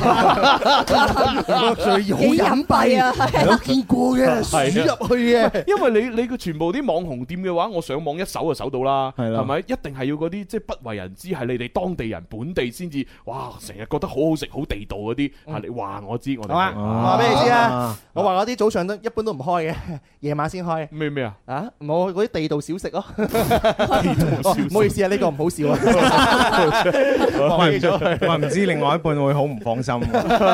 樣，最好隱蔽啊，有見過嘅，鼠入去嘅。 因為你個全部啲網紅店嘅話，我上網一搜就搜到啦，係咪？一定係要嗰啲即係不為人知，係你哋當地人本地先至，哇！成日覺得好好食、好地道嗰啲，你話我知，我哋話俾你知啊！我話嗰啲早上都一般都唔開嘅，夜晚先開。 咩啊？ 啊！我嗰啲地道小食咯。唔好意思啊，呢個唔好笑啊。 我唔知另外一半會好唔放心。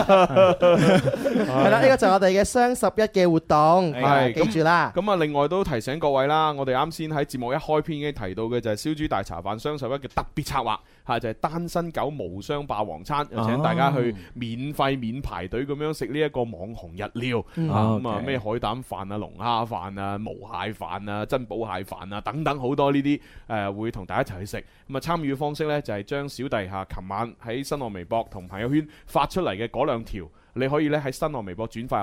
係啦，呢個就係我哋嘅雙11嘅活動，記住啦。 咁啊，另外都提醒各位啦，我哋啱先喺節目一開篇已經提到嘅就係燒豬大茶飯雙11嘅特別策劃，就係單身狗無雙霸王餐，請大家去免費免排隊咁樣食呢一個網紅日料，咁啊咩海膽飯啊、龍蝦飯啊、毛蟹飯啊、珍寶蟹飯啊等等好多呢啲會同大家一齊去食。咁啊參與嘅方式呢，就係將小弟琴晚喺新浪微博同朋友圈發出嚟嘅嗰2條。你可以咧喺新浪微博轉發又得，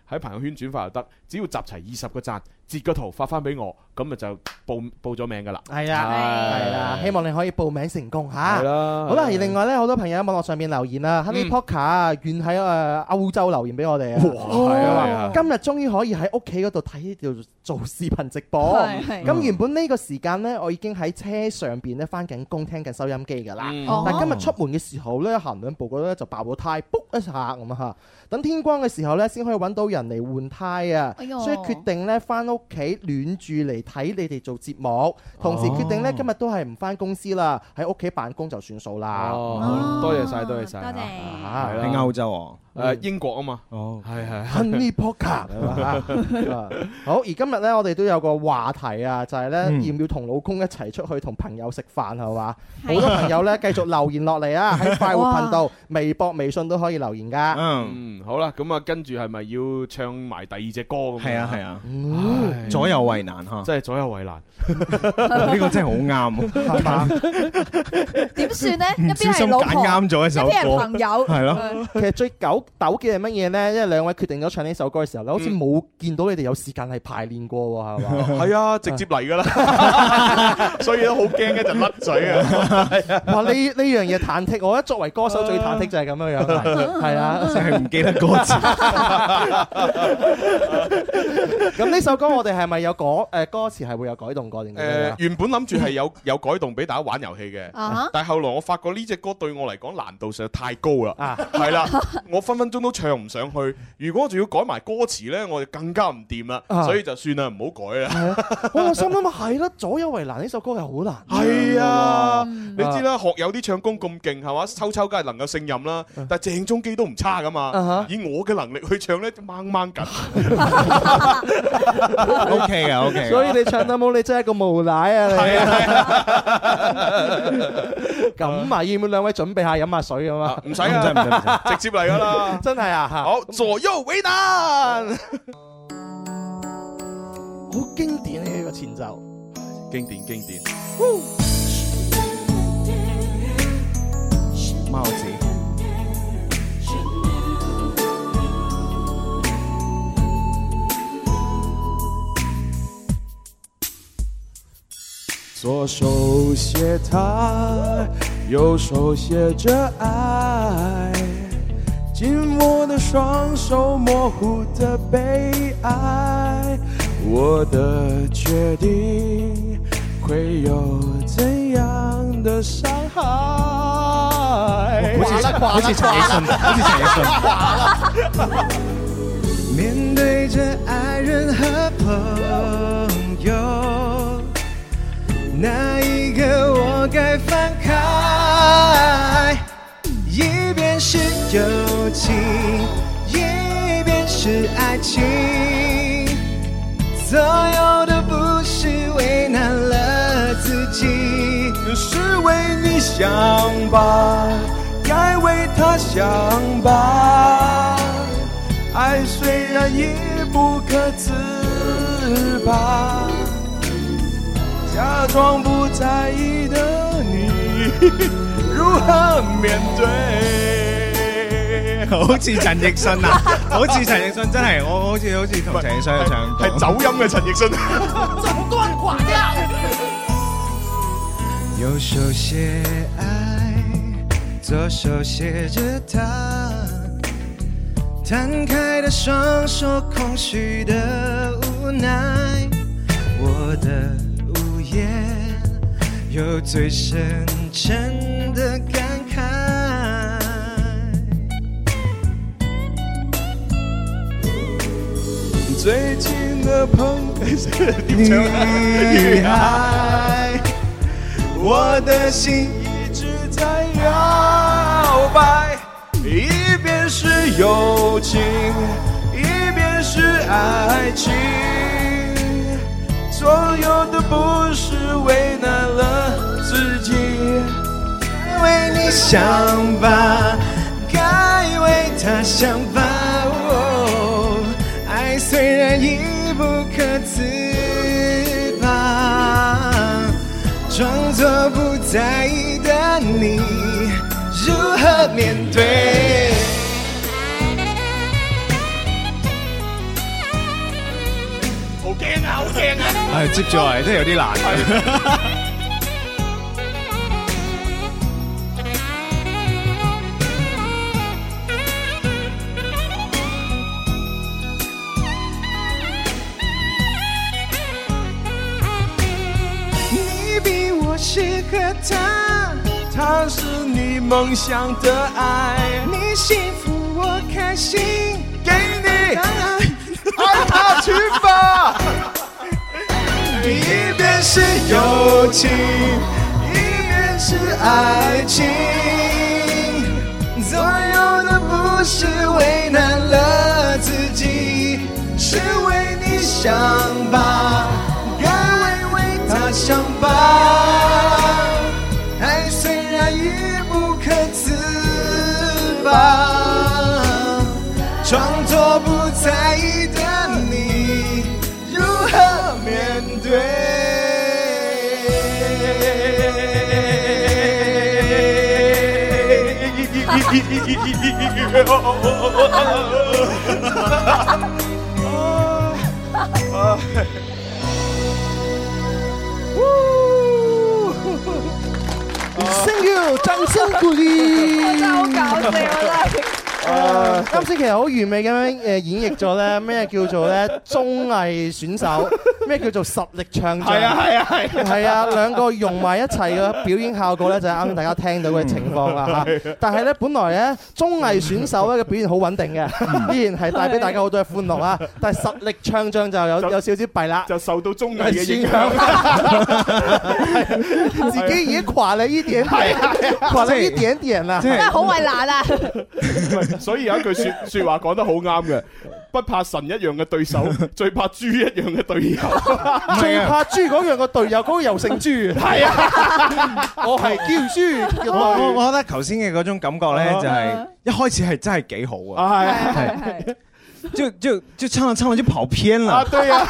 喺朋友圈轉發就得，只要集齊20個讚，截個圖發翻俾我，咁咪就報咗名噶啦。 係啊，希望你可以報名成功嚇。 係啦。 好啦，而另外咧，好多朋友喺網絡上面留言啦，Honey Poker 遠喺歐洲留言俾我哋啊。係啊，今日終於可以喺屋企嗰度睇條做視頻直播。咁原本呢個時間咧，我已經喺車上邊咧翻緊工，聽緊收音機㗎啦。但係今日出門嘅時候咧，行兩步嗰咧就爆咗胎，卜一下咁啊！等天光嘅時候咧，先可以揾到人嚟換胎啊！所以決定咧翻屋企暖住嚟睇你哋做節目，同時決定咧今日都係唔翻公司啦，喺屋企辦公就算數啦。 多謝晒，多謝晒。 多謝。 喺歐洲英國啊嘛。係。 Honey Poker 好，而今日咧我哋都有個話題啊，就係咧要唔要同老公一齊出去同朋友食飯係嘛？好多朋友咧繼續留言落嚟啊，喺快活頻道、微博、微信都可以留言噶。 好啦，咁啊跟住係咪要唱埋第二隻歌咁？ 係啊，左右為難嚇， 真係左右為難。 呢個真係好啱，係嘛？ 點算呢？一邊係老婆， 揀啱咗一首歌， 一邊係朋友， 係咯。 其實最糾嘅係乜嘢呢？因為兩位決定咗唱呢首歌嘅時候咧，好似冇見到你哋有時間係排練過喎，係嘛？ 係啊，直接嚟㗎啦，所以都好驚一陣甩嘴啊！ 哇！呢樣嘢忐忑，我覺得作為歌手最忐忑就係咁樣樣，係啊， 淨係唔記得歌詞。 咁呢首歌我哋係咪有歌詞係會有改動過定？ 原本諗住係有改動俾大家玩遊戲嘅，但係後來我發覺呢隻歌對我嚟講難度實在太高啦，係啦，我分分鐘都唱唔上去。如果我仲要改埋歌詞呢，我就更加唔掂啦，所以就算啦，唔好改啦。 我心諗係啦，左右為難呢首歌係好難。 係啊，你知啦，學友啲唱功咁勁係嘛，秋秋梗係能夠勝任啦，但係鄭中基都唔差噶嘛。以我嘅能力去唱呢，掹掹緊。 OK 啊 OK。 所以你唱得冇，你真係一個無賴啊！你咁啊，要唔要兩位準備下飲下水咁啊？ 唔使啊，直接嚟噶啦！ 真係啊！ 好，左右為難， 好經典嘅呢個前奏， 經典。 帽子。 左手写他，右手写着愛，紧握的雙手，模糊的悲哀，我的決定會有怎樣的傷害？ 好似陳奕迅。 面對着愛人和朋友，哪一個我該放開？一邊是友情，一邊是愛情，所有的不是為難了自己， 是為你想吧，該為他想吧，愛雖然已不可自拔，假裝不在意的你如何面對？ 好似陳奕迅啊，好似陳奕迅真係，我好似同陳奕迅去唱歌， 係走音嘅陳奕迅。 怎麼斷掛掉？右手寫愛，左手寫着他，攤開的雙手，空虛的無奈，我的無言有最深沉的感慨。 最近的女孩，我的心一直在搖擺， 一邊是友情，一邊是愛情，所有的不是為難了自己， 該為你想吧，該為他想吧，愛雖然已不可自拔，裝作不在意的你如何面對？ 聽啊！ 係接住落嚟真係有啲難。 你比我適合他，他是你夢想的愛，你幸福我開心，給你愛他去吧。一邊是友情，一邊是愛情，所有的不是為難了自己，是為你想吧，該為他想吧。愛雖然已不可自拔，裝作不在意的你如何面對？ Thank you， 掌聲鼓勵。 真係好搞笑啊！ 啱先其實好完美咁樣演繹咗咧咩叫做咧綜藝選手，咩叫做實力唱將。係啊，兩個融埋一齊嘅表演效果咧就係啱先大家聽到嘅情況啦嚇。但係咧本來咧綜藝選手咧嘅表現好穩定嘅，依然係帶俾大家好多嘅歡樂啊。但係實力唱將就有少少弊啦， 就受到綜藝嘅影響， 自己已經垮了一點點，垮了一點點啦， 真係好為難啊！ 所以有一句説話講得好啱嘅，不怕神一樣嘅對手，最怕豬一樣嘅隊友。 最怕豬嗰樣嘅隊友，嗰個又姓豬。係啊，我係叫豬。 我覺得頭先嘅嗰種感覺咧，就係一開始係真係幾好啊。係。就唱着唱着就跑偏了。 對呀，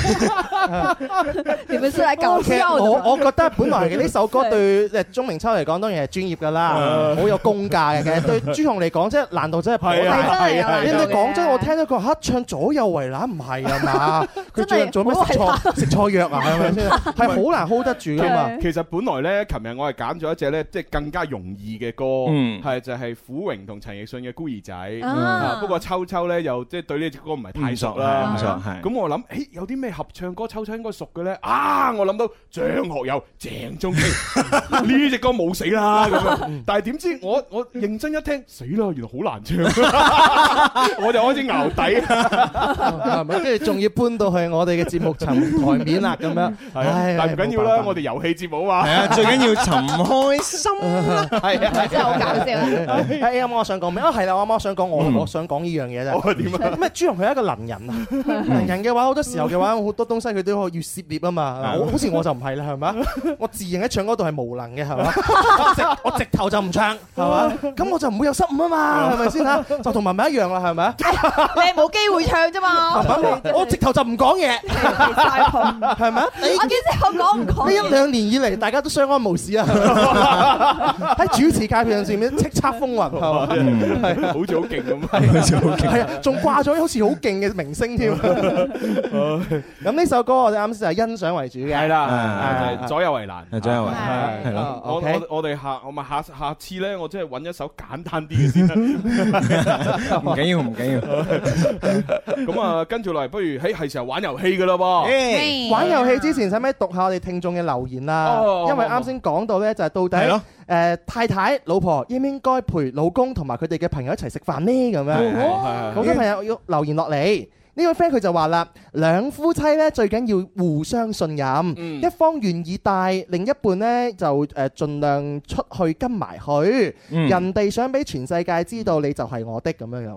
你們是來搞笑的。 我覺得本來呢首歌對鐘明秋嚟講當然係專業㗎啦，好有功架嘅。其實對朱紅嚟講，即係難度真係係啊。 你講真，我聽到佢唱左右為難，唔係啊嘛？佢最近做咩食錯藥啊？係咪先？係好難 hold 得住㗎嘛。 其實本來咧，琴日我係揀咗一隻咧，即係更加容易嘅歌，係就係虎榮同陳奕迅嘅《孤兒仔》。不過秋秋咧又即係對呢隻歌唔係太熟啦，咁我諗，有啲咩合唱歌秋秋應該熟嘅咧？我諗到張學友、鄭中基呢隻歌冇死啦咁樣，但係點知我認真一聽，死啦，原來好難唱，我就開始淆底， 係咪？跟住仲要搬到去我哋嘅節目層台面啦，咁樣， 但係唔緊要啦，我哋遊戲節目嘛， 係啊，最緊要尋開心， 係啊， 真係好搞笑。 啱啱我想講咩？係啦，我啱啱想講我想講呢樣嘢啫。 點啊？ 咩？朱紅佢係一個能人啊！能人嘅話，好多時候嘅話，好多東西佢都要涉獵啊嘛。好似我就唔係啦，係咪？我自認喺唱歌度係無能嘅，係嘛？我直頭就唔唱，係嘛？咁我就唔會有失誤啊嘛，係咪先嚇？就同文文一樣啦，係咪？ 你係冇機會唱啫嘛。 我直頭就唔講嘢，係咪？ 我幾時有講唔講？ 呢1-2年以嚟，大家都相安無事啊！喺主持界別上面叱咤風雲，係嘛？係好似好勁咁， 係啊，仲掛咗好似好勁嘅明星添。咁呢首歌我哋啱先係欣賞為主嘅， 係啦，左右為難， 左右為難，係咯。 我哋下次咧，我真係揾一首簡單啲嘅先啦。 唔緊要，唔緊要。 咁啊，跟住落嚟，不如係時候玩遊戲噶啦噃。 玩遊戲之前，使唔使讀下我哋聽眾嘅留言啊？因為啱先講到咧，就係到底太太、老婆應唔應該陪老公同埋佢哋嘅朋友一齊食飯呢？咁樣，好多朋友要留言落嚟。呢位 friend 佢就話啦，兩夫妻咧最緊要互相信任，一方願意帶，另一半咧就盡量出去跟埋去，人哋想俾全世界知道你就係我的咁樣樣。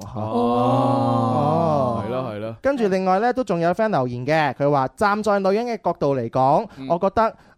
係咯係咯。 跟住另外咧都仲有 friend 留言嘅，佢話站在女人嘅角度嚟講，我覺得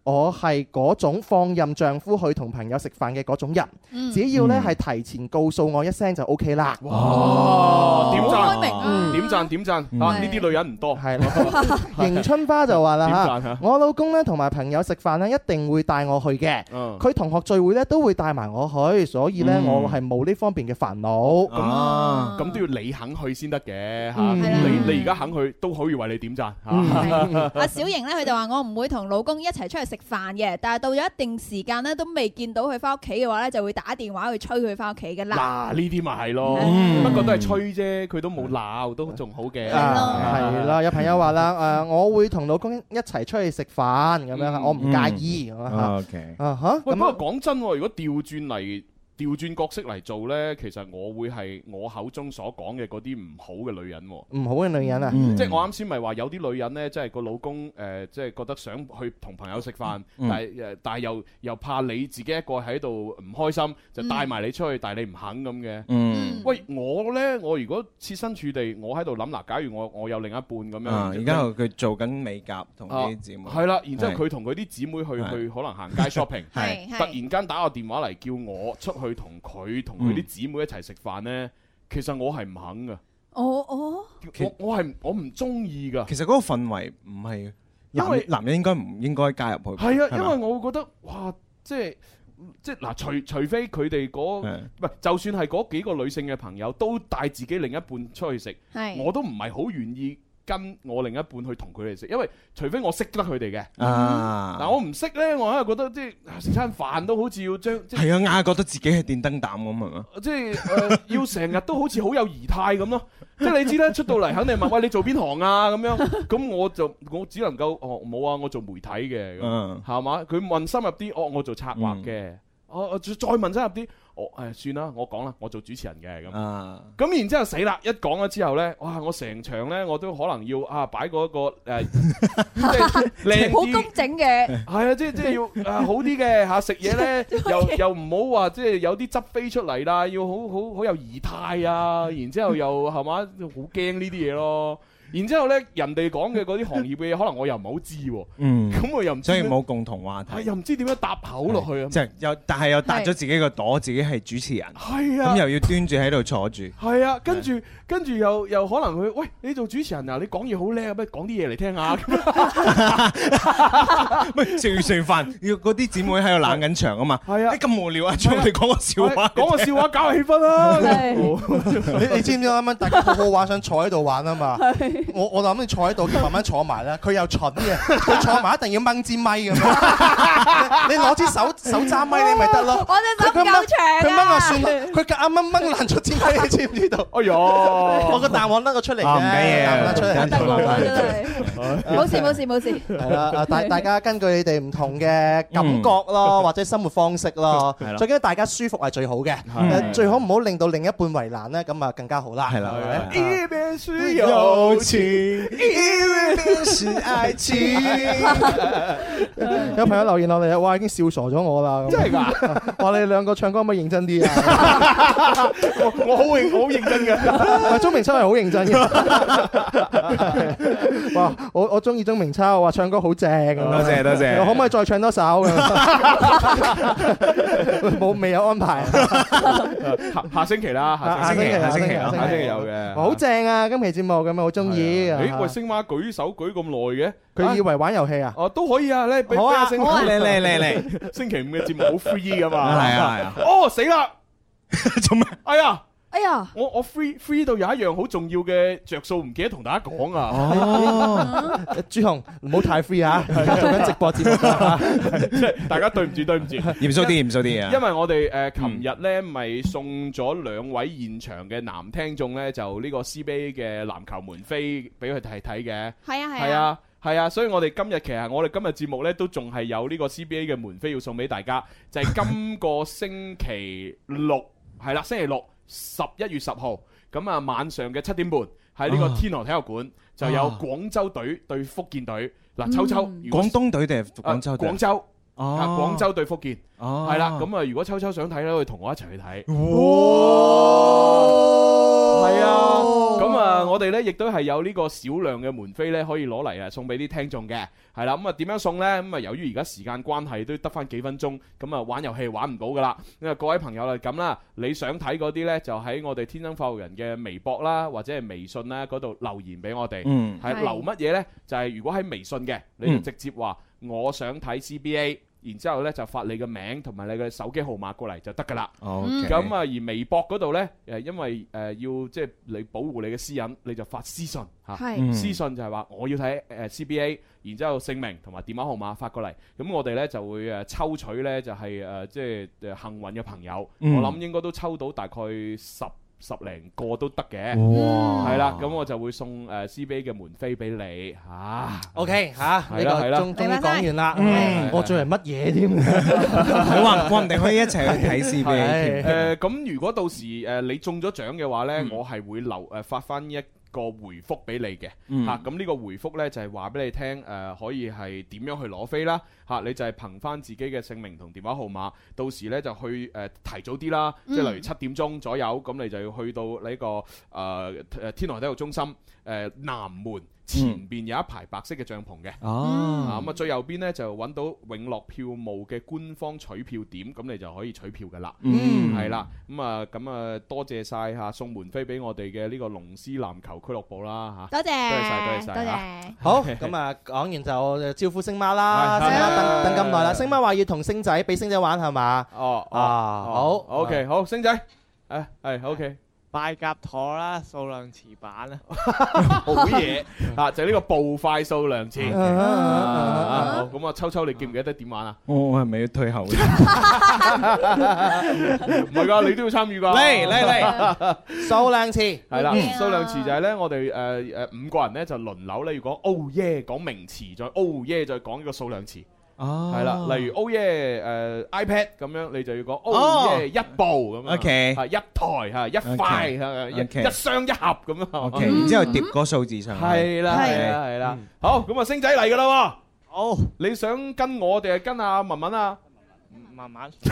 我係嗰種放任丈夫去同朋友食飯嘅嗰種人，只要呢係提前告訴我一聲就 OK 啦。 哇！點讚，點讚，點讚啊！呢啲女人唔多。係咯。 迎春花就話啦嚇，我老公呢同埋朋友食飯呢一定會帶我去嘅。佢同學聚會呢都會帶埋我去，所以呢我係冇呢方面嘅煩惱。 咁都要你肯去先得嘅嚇。你而家肯去都可以為你點讚。 阿小瑩咧，佢就話我唔會同老公一齊出去食飯嘅，但係到咗一定時間咧，都未見到佢翻屋企嘅話咧，就會打電話去催佢翻屋企嘅啦。 嗱，呢啲咪係咯，不過都係催啫，佢都冇鬧，都仲好嘅。 係啦，有朋友話啦，我會同老公一齊出去食飯咁樣，我唔介意。 OK。喂，不過講真，如果調轉角色嚟做呢，其實我會係我口中所講嘅嗰啲唔好嘅女人。 唔好嘅女人啊！ 即係我啱先咪話有啲女人呢，即係個老公即係覺得想去同朋友食飯，但係又怕你自己一個喺度唔開心，就帶埋你出去，但係你唔肯咁嘅。喂，我呢，我如果設身處地，我喺度諗嗱，假如我有另一半咁樣， 而家佢做緊美甲同啲姊妹， 係啦，然之後佢同佢啲姊妹去可能行街 shopping，突然間打個電話嚟叫我出去同佢啲姊妹一齊食飯呢，其實我係唔肯噶。我唔中意噶。 其實嗰個氛圍唔係，因為男人應該唔應該加入去。 係啊，因為我會覺得哇，即係嗱，除非佢哋唔係，就算係嗰幾個女性嘅朋友都帶自己另一半出去食，我都唔係好願意跟我另一半去同佢哋食，因為除非我識得佢哋嘅，嗱我唔識呢，我係覺得即係食餐飯都好似要將係啊，硬係覺得自己係電燈膽咁係嘛， 即係要成日都好似好有儀態咁咯，即係你知啦，出到嚟肯定問喂你做邊行啊咁樣，咁我只能夠冇啊，我做媒體嘅，係嘛？佢問深入啲，我做策劃嘅，我再問深入啲。算啦，我講啦，我做主持人嘅咁。咁然之後死啦！一講咗之後呢，哇！我成場呢，我都可能要擺嗰個即係靚啲、 好工整嘅。 係啊，即係要好啲嘅嚇，食嘢呢又唔好話即係有啲汁飛出嚟啦，要好有儀態啊！然之後又係嘛，好驚呢啲嘢咯。然之後咧，人哋講嘅嗰啲行業嘅嘢，可能我又唔係好知喎。咁我又唔知， 所以冇共同話題。 又唔知點樣搭口落去啊！ 即係但係又搭咗自己個朵，自己係主持人。 係啊， 咁又要端住喺度坐住。 係啊，跟住又可能佢喂，你做主持人啊，你講嘢好叻啊，不如講啲嘢嚟聽下。 喂，食完飯要嗰啲姊妹喺度冷緊場啊嘛。係啊，你咁無聊啊，將我哋講個笑話， 講個笑話搞下氣氛啦。 你知唔知啱啱大家好好玩，想坐喺度玩啊嘛？我諗你坐喺度，慢慢坐埋啦。佢又蠢嘅，佢坐埋一定要掹支咪咁樣。你攞支手揸咪你咪得咯。 我隻手夠長啊！ 佢掹就算啦，佢夾硬掹爛咗支咪，你知唔知道？哎呀！我個彈簧甩咗出嚟嘅， 唔緊要， 出嚟得我真係冇事。 係啦，大家根據你哋唔同嘅感覺咯，或者生活方式咯，最緊要大家舒服係最好嘅。最好唔好令到另一半為難咧，咁啊更加好啦。係啦， 一邊是友情，一邊是愛情。 有朋友留言落嚟啊，哇已經笑傻咗我啦！ 真係㗎， 話你哋兩個唱歌可唔可以認真啲啊？ 我好認真嘅， 鐘明秋係好認真嘅。哇！我中意鐘明秋，話唱歌好正咁。 多謝。 可唔可以再唱多首咁？未有安排。 下星期啦，下星期有嘅。 好正啊！今期節目咁啊，好中意。 喂，星媽舉手舉咁耐嘅， 佢以為玩遊戲啊？ 哦，都可以啊！你俾阿星媽嚟。星期五嘅節目好 free 噶嘛？ 係啊。 哦，死啦！ 做咩？ 哎呀！ 我 free 到有一樣好重要嘅着數，唔記得同大家講啊！ 哦，朱紅唔好太 free 啊！而家做緊直播節目， 即係大家對唔住， 嚴肅啲啊！ 因為我哋琴日咧咪送咗2位現場嘅男聽眾咧，就呢個 CBA 嘅籃球門飛俾佢睇嘅。係啊，所以我哋今日節目咧都仲係有呢個 CBA 嘅門飛要送俾大家，就係今個星期六係啦，星期六。11月10號咁啊，晚上嘅7點半喺呢個天河體育館就有廣州隊對福建隊。嗱，秋秋， 廣東隊定係廣州隊？ 廣州，廣州對福建，係啦。咁啊，如果秋秋想睇咧，可以同我一齊去睇。係啊。 咁啊，我哋咧亦都係有呢個少量嘅門飛咧，可以攞嚟啊送俾啲聽眾嘅。係啦，咁啊點樣送呢？咁啊由於而家時間關係，都得翻幾分鐘，咁啊玩遊戲玩唔到噶啦。咁啊各位朋友啊咁啦，你想睇嗰啲呢，就喺我哋天生發育人嘅微博啦，或者係微信啦嗰度留言俾我哋。係留乜嘢呢？就係如果喺微信嘅，你就直接話我想睇 CBA。然之後咧就發你嘅名同埋你嘅手機號碼過嚟就得㗎啦。咁啊，而微博嗰度咧因為要即係你保護你嘅私隱，你就發私信嚇。私信就係話我要睇CBA，然之後姓名同埋電話號碼發過嚟。咁我哋咧就會抽取咧就係即係幸運嘅朋友。我諗應該都抽到大概十零個都得嘅，係啦，咁我就會送CBA 嘅門飛俾你嚇。OK 嚇，呢個終於講完啦。 我做係乜嘢添？ 你話唔定可以一齊去睇 CBA。 咁如果到時你中咗獎嘅話呢，我係會發翻一個回覆俾你嘅嚇。咁呢個回覆呢，就係話俾你聽可以係點樣去攞飛啦嚇。你就係憑翻自己嘅姓名同電話號碼，到時呢就去提早啲啦，即係例如7點鐘左右，咁你就要去到呢個天河體育中心南門前邊有一排白色嘅帳篷嘅。咁啊最右邊呢，就揾到永樂票務嘅官方取票點，咁你就可以取票噶啦。係啦，咁啊多謝晒嚇送門飛俾我哋嘅呢個龍獅籃球俱樂部啦嚇。多謝多謝。 好，咁啊講完就招呼星媽啦。星媽等咁耐啦，星媽話要同星仔俾星仔玩係嘛？好 OK 好，星仔係 OK。 拜甲陀啦，數量詞版啦， 好嘢就係呢個步快數量詞。好，咁啊，秋秋你記唔記得點玩啊？ 我係咪要退後？唔係㗎，你都要參與㗎。 嚟，數量詞係啦，數量詞就係咧，我哋5個人咧就輪流咧，要講 Oh yeah 講名詞，再 Oh yeah 再講呢個數量詞。係啦，例如 Oh yeah iPad 咁樣，你就要講 Oh yeah 一部咁樣，OK，一台嚇一塊一箱一盒咁樣 ，OK，然之後疊個數字上去， 係啦，好，咁啊星仔嚟㗎啦喎，好，你想跟我定係跟阿文文啊？ 慢慢， 你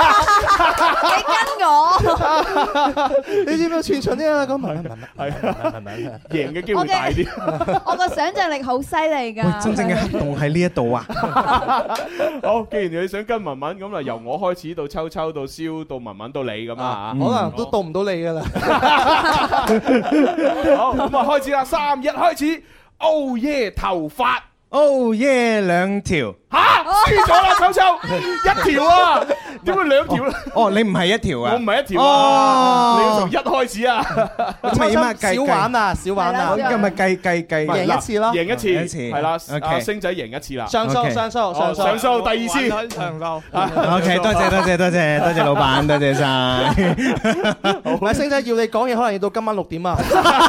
跟我， 你知唔知串場啲啊？講文文係贏嘅機會大啲。 我個想像力好犀利㗎。 真正嘅黑洞喺呢一度啊！ 好，既然你想跟文文，咁啊由我開始到秋秋到蕭到文文到你咁啊， 可能都到唔到你㗎啦。 好，咁啊開始啦，3、1開始。Oh yeah 頭髮。 Oh yeah 2條。 嚇，輸咗啦，秋秋1條啊，點會2條咧？ 哦，你唔係1條啊？ 我唔係1條啊，你要從1開始啊。 咁咪點啊？ 少玩啊，少玩啊！ 咁咪計贏一次咯， 贏一次，係啦。阿星仔贏一次啦， 上訴， 第2次。 上訴。 OK，多謝老闆，多謝晒。 好，星仔要你講嘢，可能要到今晚6點啊。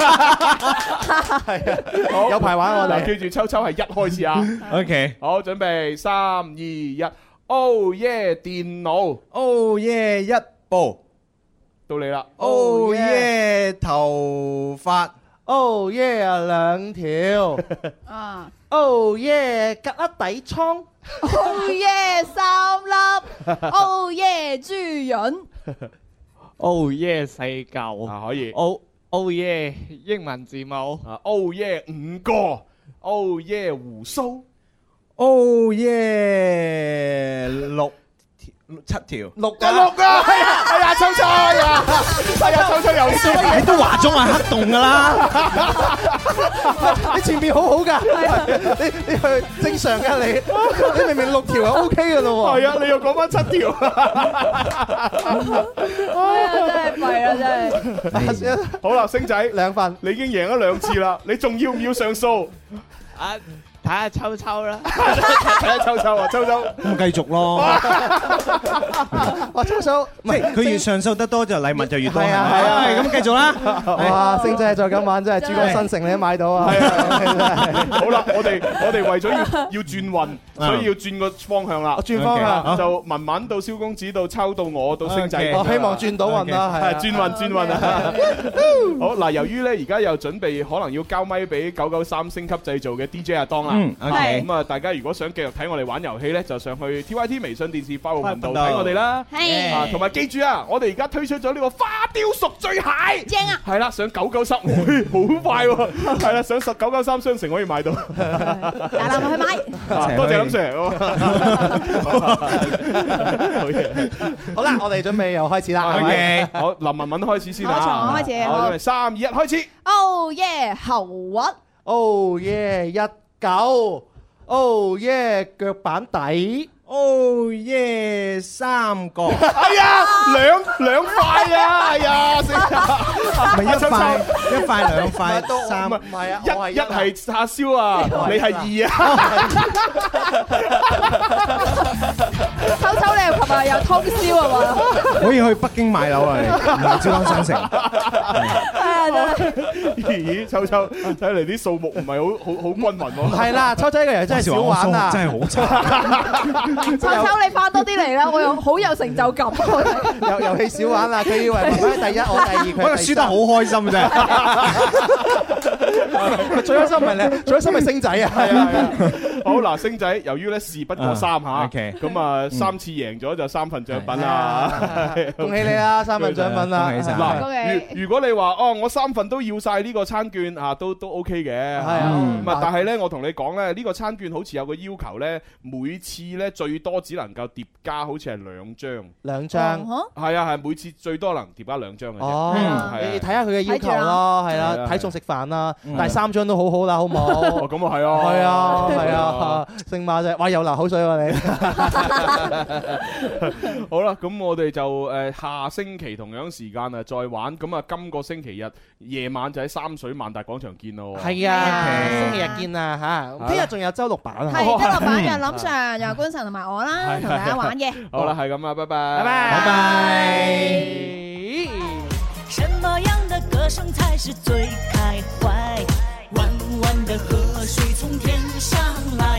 係啊，有排玩我哋。 記住，秋秋係1開始啊。 OK， 好，準備3、2、1。Oh yeah 電腦。 Oh yeah 一部。 到你啦。 Oh yeah 頭髮。 Oh yeah 2條。Oh yeah 隔粒底倉。 Oh yeah 3粒。Oh yeah 豬潤。 Oh yeah 4嚿。 可以。 Oh yeah 英文字母。 Oh yeah 5個。Oh yeah 鬍鬚。 Oh yeah 7條 ，6啊！係啊，秋秋秋秋又輸， 你都話咗係黑洞噶啦， 你前面好好噶，你去正常噶你明明6條係 OK 噶咯喎， 係啊，你又講翻7條， 真係弊啊真係。 好啦，星仔 2份， 你已經贏咗2次啦，你仲要唔要上訴？ 睇下秋秋啦， 睇下秋秋啊，秋秋咁繼續咯。 哇，秋秋， 即係佢越上訴得多，就禮物就越多。係啊， 咁繼續啦。 哇，星仔再咁玩真係珠江新城你都買到啊。 好啦，我哋為咗要轉運，所以要轉個方向啦。 轉方向就文文到蕭公子到秋到我到星仔。 我希望轉到運啦，係轉運啊！好嗱，由於咧而家又準備可能要交咪俾993星級製造嘅 DJ 阿當啦。 OK。 咁啊，大家如果想繼續睇我哋玩遊戲咧，就上去 TYT 微信電視快活頻道睇我哋啦。係，同埋記住啊，我哋而家推出咗呢個花雕熟醉蟹， 正啊！ 係啦，上993，好快喎！係啦，上993商城可以買到。 大家去買。 多謝林 Sir。 好啦，我哋準備又開始啦。 OK，好，林文文開始先啦。 開始。 好，3、2、1，開始。 Oh yeah，喉核。 Oh yeah，一九。Oh yeah，腳板底。 Oh yeah，三個。 哎呀，兩塊啊！哎呀， 咪一塊兩塊三， 唔係啊， 一係叉燒啊，你係2啊。 秋秋你又琴日又通宵啊嘛？ 可以去北京買樓啊，唔係珠江新城。 咦，秋秋睇嚟啲數目唔係好均勻喎。 係啦，秋秋嘅人真係少玩啊， 真係好差。 秋秋你翻多啲嚟啦，我又好有成就感。 遊戲少玩啦，佢以為媽媽第一，我第二，佢可能輸得好開心啫。 最開心咪你，最開心咪星仔啊！係啊！ 好嗱，星仔，由於咧事不過3嚇，咁啊3次贏咗就3份獎品啦。 恭喜你啦，3份獎品啦！ 嗱，如果你話哦，我3份都要晒呢個餐券啊，都 OK 嘅。係啊，但係咧，我同你講咧，呢個餐券好似有個要求咧，每次咧最多只能夠疊加，好似係2張。 2張。 係啊，係每次最多能疊加2張嘅啫。 哦，你睇下佢嘅要求咯，係啦，睇餸食飯啦，但係3張都好好啦，好唔好？ 哦，咁啊係啊， 係啊，係啊，星馬啫，哇，又流口水喎你。 好啦，咁我哋就下星期同樣時間啊再玩，咁啊今個星期日夜晚就喺三水萬達廣場見咯。 係啊，星期日見啊嚇，聽日仲有周六版啊。 係周六版，有林 Sir、有官神同埋我啦，同大家玩嘅。 好啦，係咁啊，拜拜， 拜拜。 什麼樣的歌聲才是最開懷？彎彎的河水從天上來。